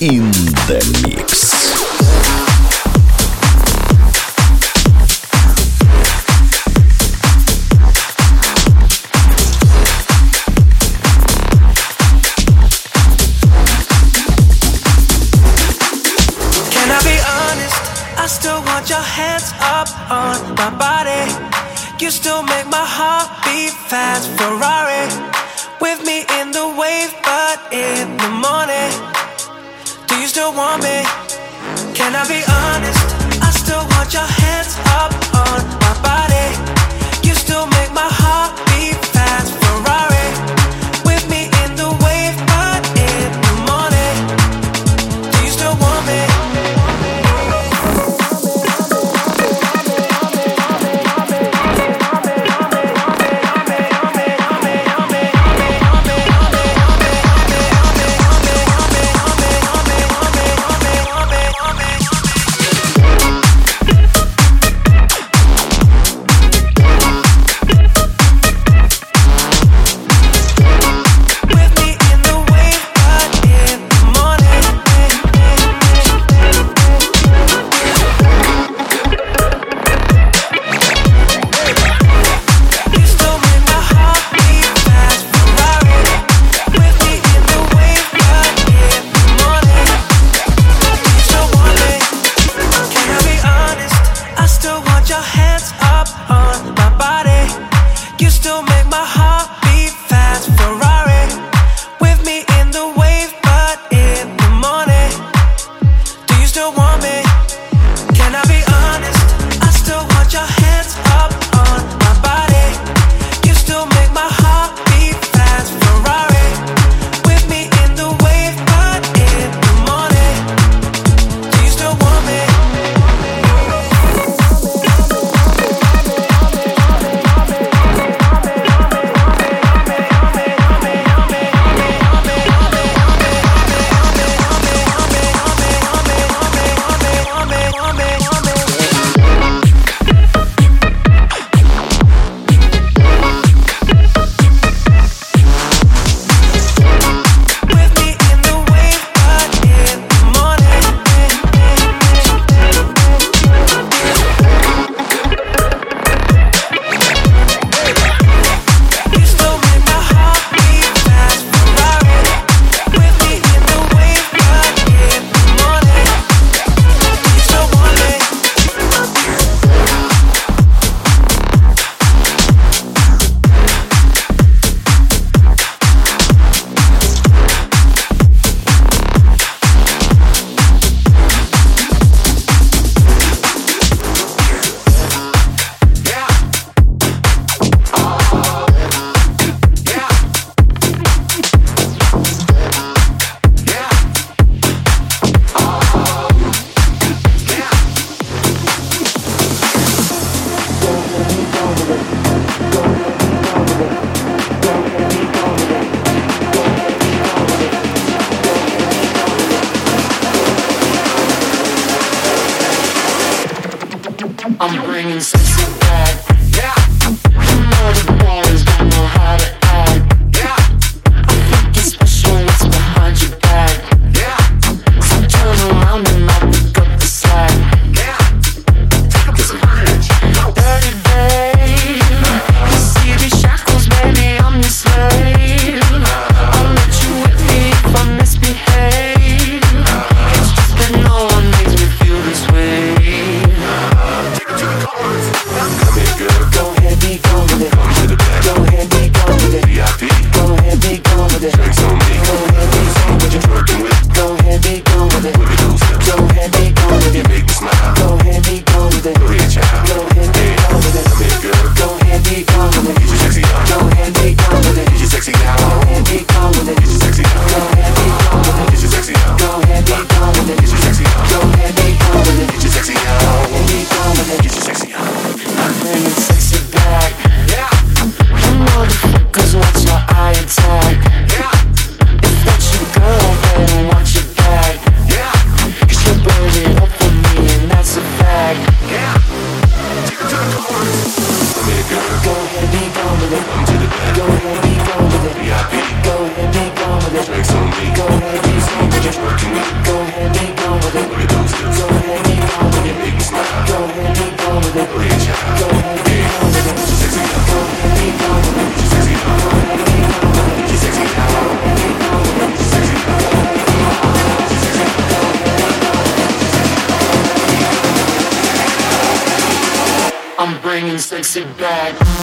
in the mix. I still want your hands up on my body. You still make my heart beat fast. Ferrari with me in the wave, but in the morning. Do you still want me? Can I be honest? I still want your hands up on my body. You still make my heart beat fast. Ferrari with me in the wave, but in the morning. Do you still want me? I'm bringing sexy back. Yeah. You know the boys don't know how to act. Yeah. I think it's special what's behind your back. Yeah. So turn around and I'll pick up the slack. Yeah. Take up this bridge. Dirty babe. You see these shackles, baby, I'm your slave. I'll let you whip me if I misbehave. It's just that no one makes me feel this way. Come here, girl. Go ahead, be gone with it. Come to the back. Go ahead, be gone with it. VIP. Go ahead, be gone with it. Drinks on me. Go ahead, be gone with What you it. twerking with? Go ahead, be gone with it. Wiggle those hips. Go ahead, be gone with You it. make me smile. Go ahead, be gone with it. Go ahead, child. Go ahead, be gone with it. Come here, girl. Go ahead, be gone with it. Get your sexy on. Go ahead, be gone with it. Get your sexy down. Go ahead, be gone with it. Get your sexy on. Go ahead, be gone with it. Get your sexy on. Go ahead, be gone with it. Get your sexy on. Go ahead, be gone with it. Get your sexy on. Go ahead, be gone with it. Get your sexy on. I'm bringing sexy back. Yeah. You motherfuckers watch your eye attack. Yeah. If that's your girl, better watch your back. Yeah. 'Cause you burn it up for me and that's a fact. Yeah. Take it to the chorus. Come here, girl. Go ahead, be gone with it. Come to the back. Go ahead, be gone with it. VIP. Go ahead, be gone with it. Drinks on me. Go ahead, be gone with What you it. twerking with? Go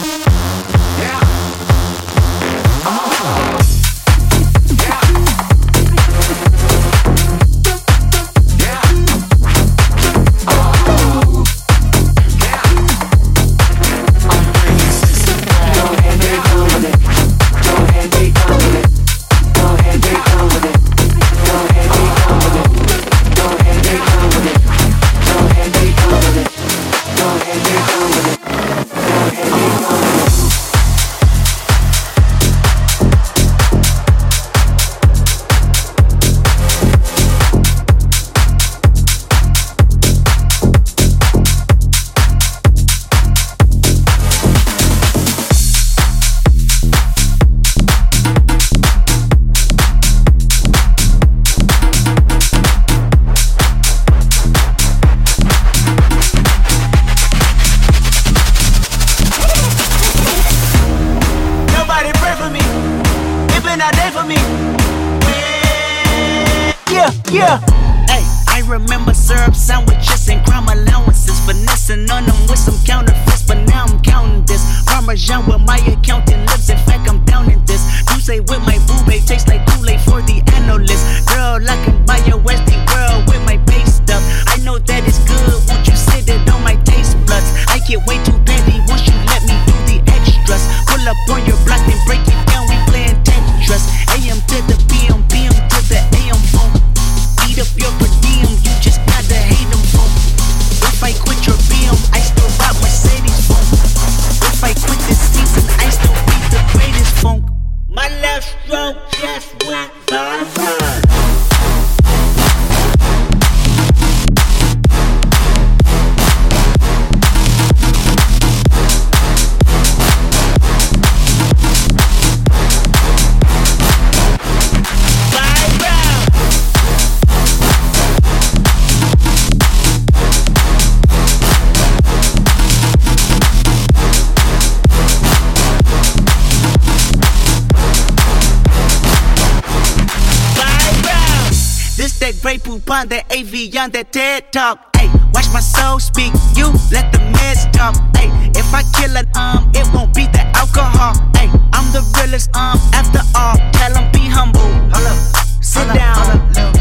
On that AV on that TED Talk, ayy. Watch my soul speak, you let the meds talk, ayy. If I kill it, it won't be the alcohol, ayy. I'm the realest, after all. Tell 'em be humble, hold up, sit down,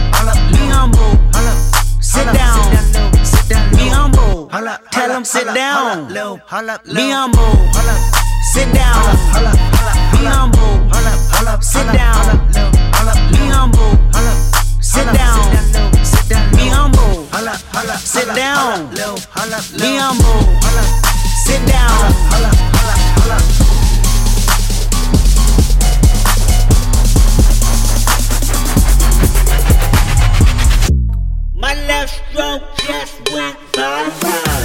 be humble, hold up, sit down, be humble, tell 'em sit down, be humble, sit down, be humble, sit down, be humble, sit down. Be humble, sit down. Be humble, sit down. My left stroke just went bye-bye.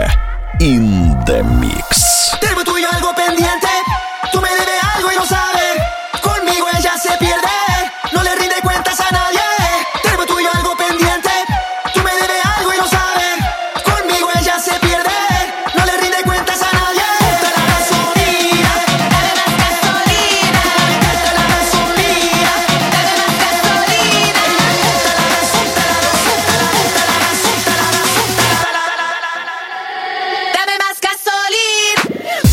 DJ in the mix. Tengo tuyo algo pendiente, tú me debes algo y no sabes. Conmigo ella se pierde, no le rinde cuentas a nadie. Tengo tuyo algo pendiente, tú me debes algo y no sabes. Conmigo ella se pierde, no le rinde cuentas a nadie. Gusta la gasolina, dame más gasolina. Gusta la gasolina, dame más gasolina. Dame más gasolina.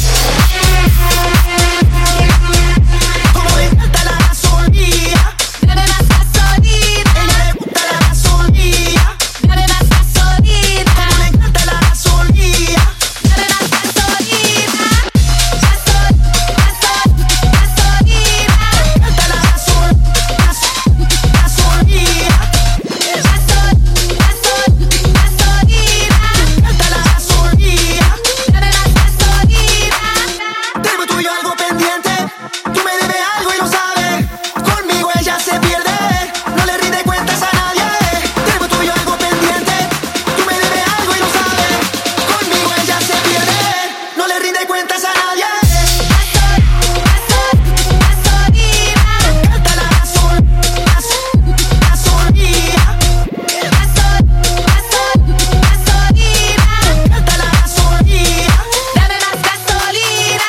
Como le encanta la gasolina, dame más gasolina. Ella le gusta la gasolina, dame más gasolina. Como le encanta la gasolina, dame más gasolina. Gasolina, me encanta la gasolina. Gasolina, dame más gasolina. Tengo tuyo algo pendiente, tú me debes algo y lo sabes. Conmigo ella se pierde, no le rinde cuentas a nadie. Tengo tuyo algo pendiente, tú me debes algo y lo sabes. Conmigo ella se pierde, no le rinde cuentas a nadie. Gasolina, me encanta la gasolina. Gasolina, me encanta la gasolina. Dame más gasolina.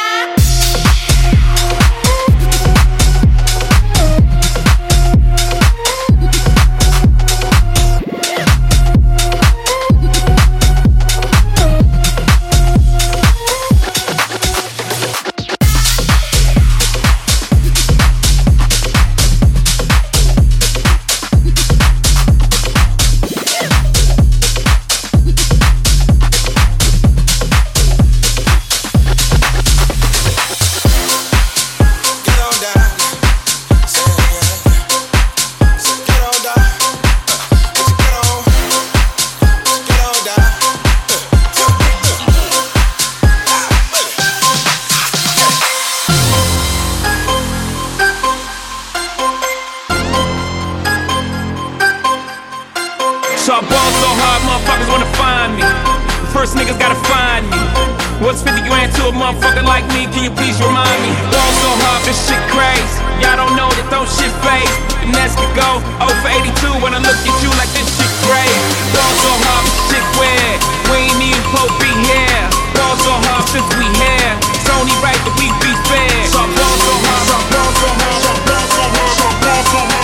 So I ball so hard, motherfuckers wanna find me. First niggas gotta find me. What's 50 grand to a motherfucker like me? Can you please remind me? Ball so hard, this shit crazy. Y'all don't know that don't shit phase. And that's to go 0 for 82 when I look at you like this shit crazy. Ball so hard, this shit weird. We ain't even supposed to be here. Ball so hard since we here. It's only right that we be fair. So I ball so hard, so I ball so hard, so I ball so hard, so I ball so hard.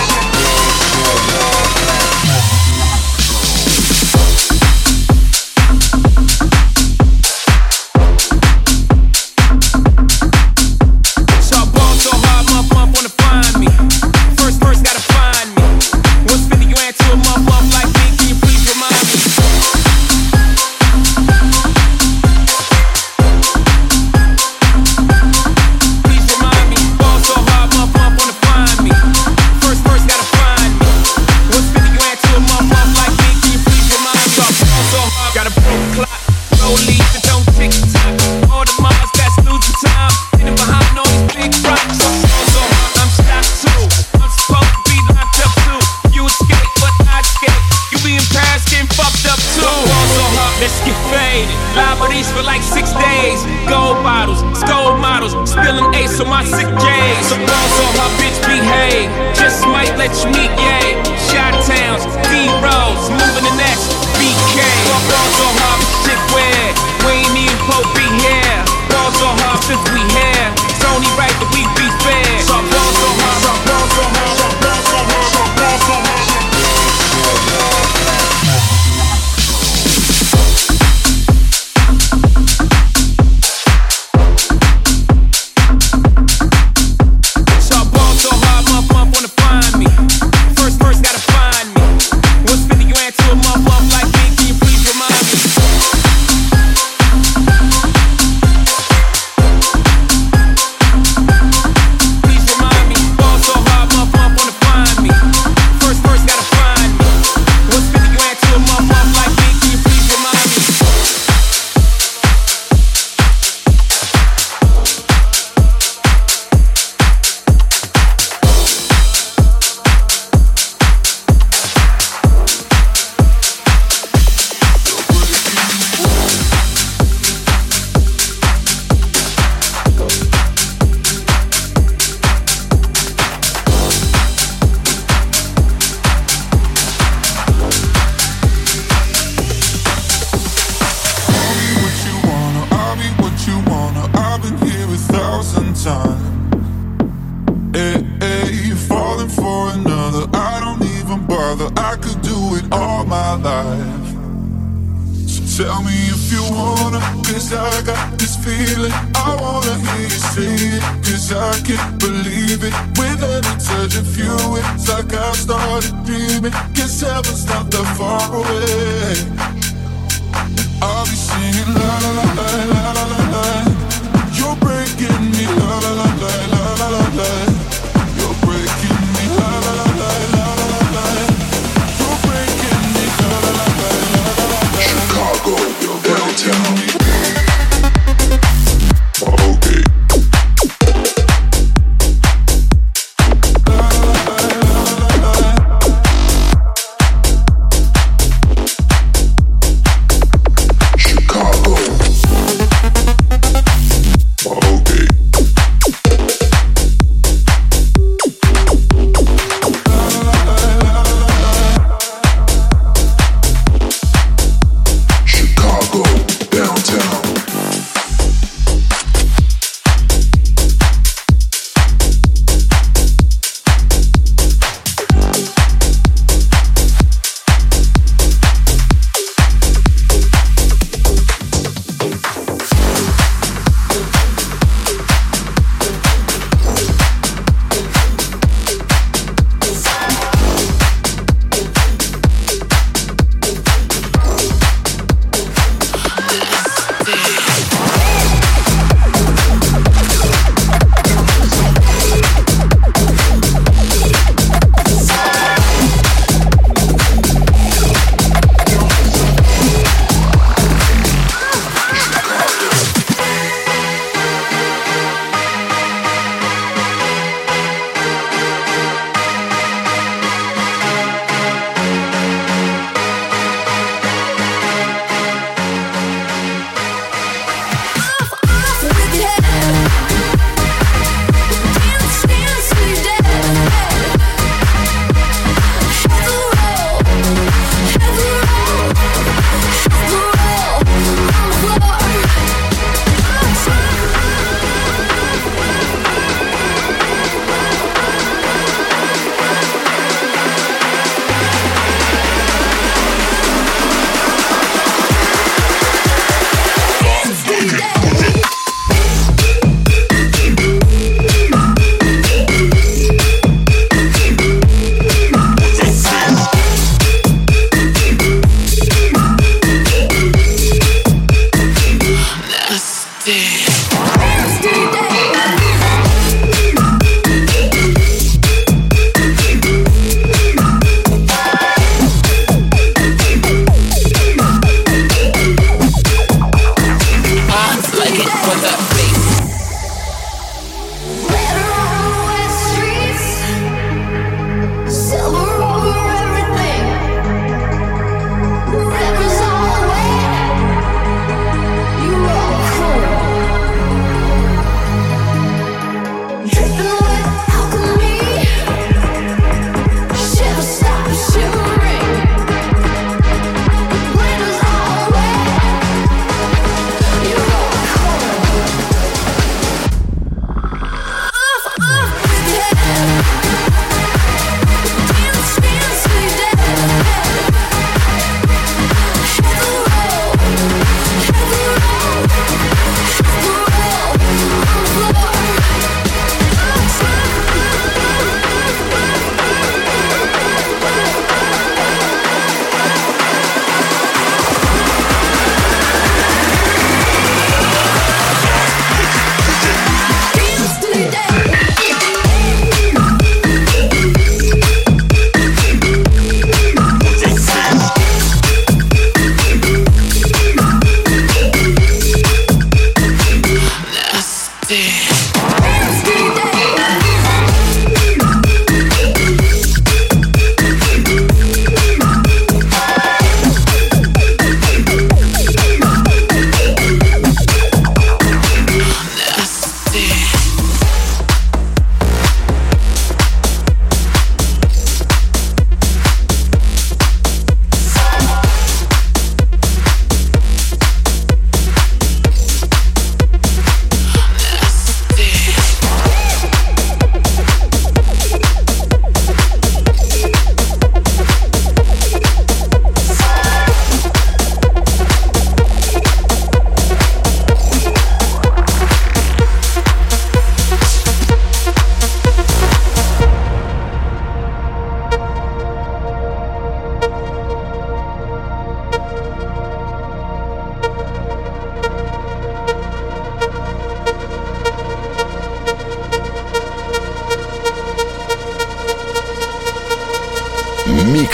So I ball so hard, motherfucker wanna find me. First gotta find me. What's 50 grand to a motherfucker like me? Can you please remind me? Please remind me. Ball so hard, motherfucker wanna find me. First gotta find me. What's 50 grand to a motherfucker like me? Can you please remind me? So I ball so hard, got a broke clock. Rollies that don't tick tock. All the Mars that's losing time. Hidden behind all these big rocks. So I ball so hard, I'm shot too. I'm supposed to be locked up too. You escape, but I escape. You be in Paris getting fucked up too. Ball so hard, let's get faded. Liberties for like 6 days. Gold bottles, gold models. Spilling ace on my sick days. So ball so hard, bitch behave. Just might let you meet, yay. Shot towns, D-Rose, moving the next BK. Ball so hard, shit weird. We ain't even supposed to be here. Ball so hard since we here. It's only right that we be fair. So I ball so hard, so I ball so hard, so I ball so hard, so I ball so hard. So I ball so hard, motherfucker wanna find me. First gotta find me. What's 50 grand to a motherfucker like me? Can you please remind me? time. Hey, hey, you're falling for another. I don't even bother. I could do it all my life. So tell me if you wanna, 'cause I got this feeling. I wanna hear you say it, 'cause I can't believe it. With every touch of you, it's like I've started dreaming. Guess heaven's not that far away. I'll be singing la la la la la la la la. You're breaking me la la la la la la la la. You're breaking me la la la la la la la la. You're breaking me la la la la la la la. Chicago, you're downtown. Okay. Chicago.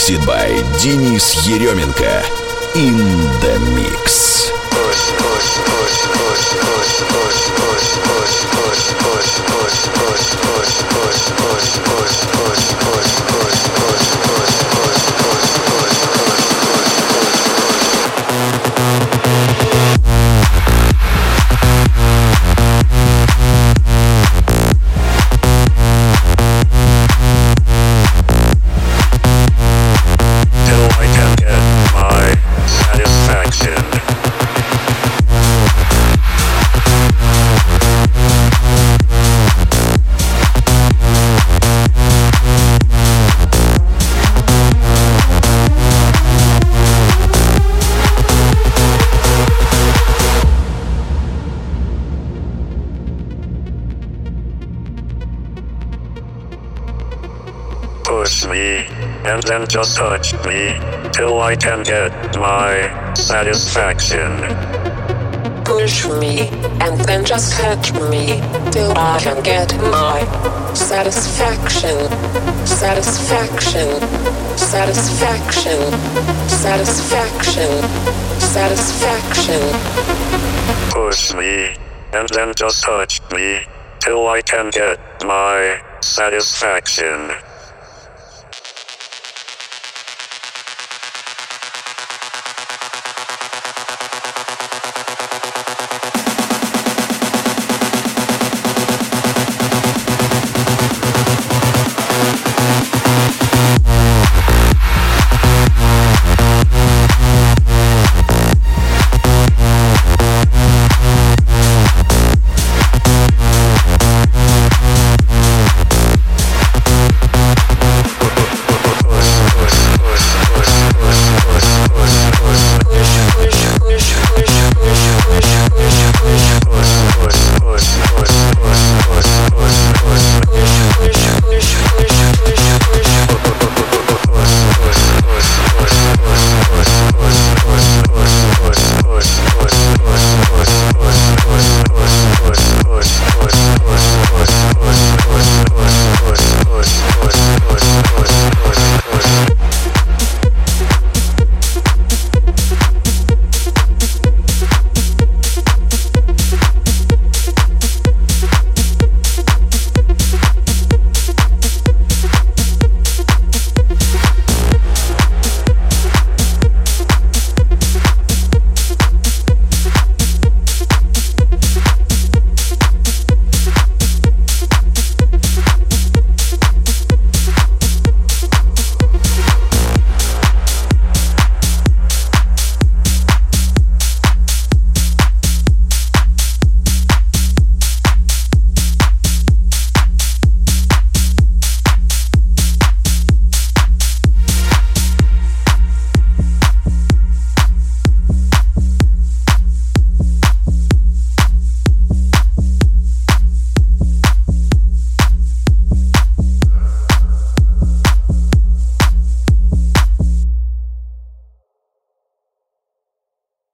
Mixed by Денис Еременко. In the Mix. Push me, and then just touch me, till I can get my satisfaction. Push me, and then just touch me, till I can get my satisfaction. Satisfaction. Satisfaction. Satisfaction. Satisfaction. Push me, and then just touch me, till I can get my satisfaction.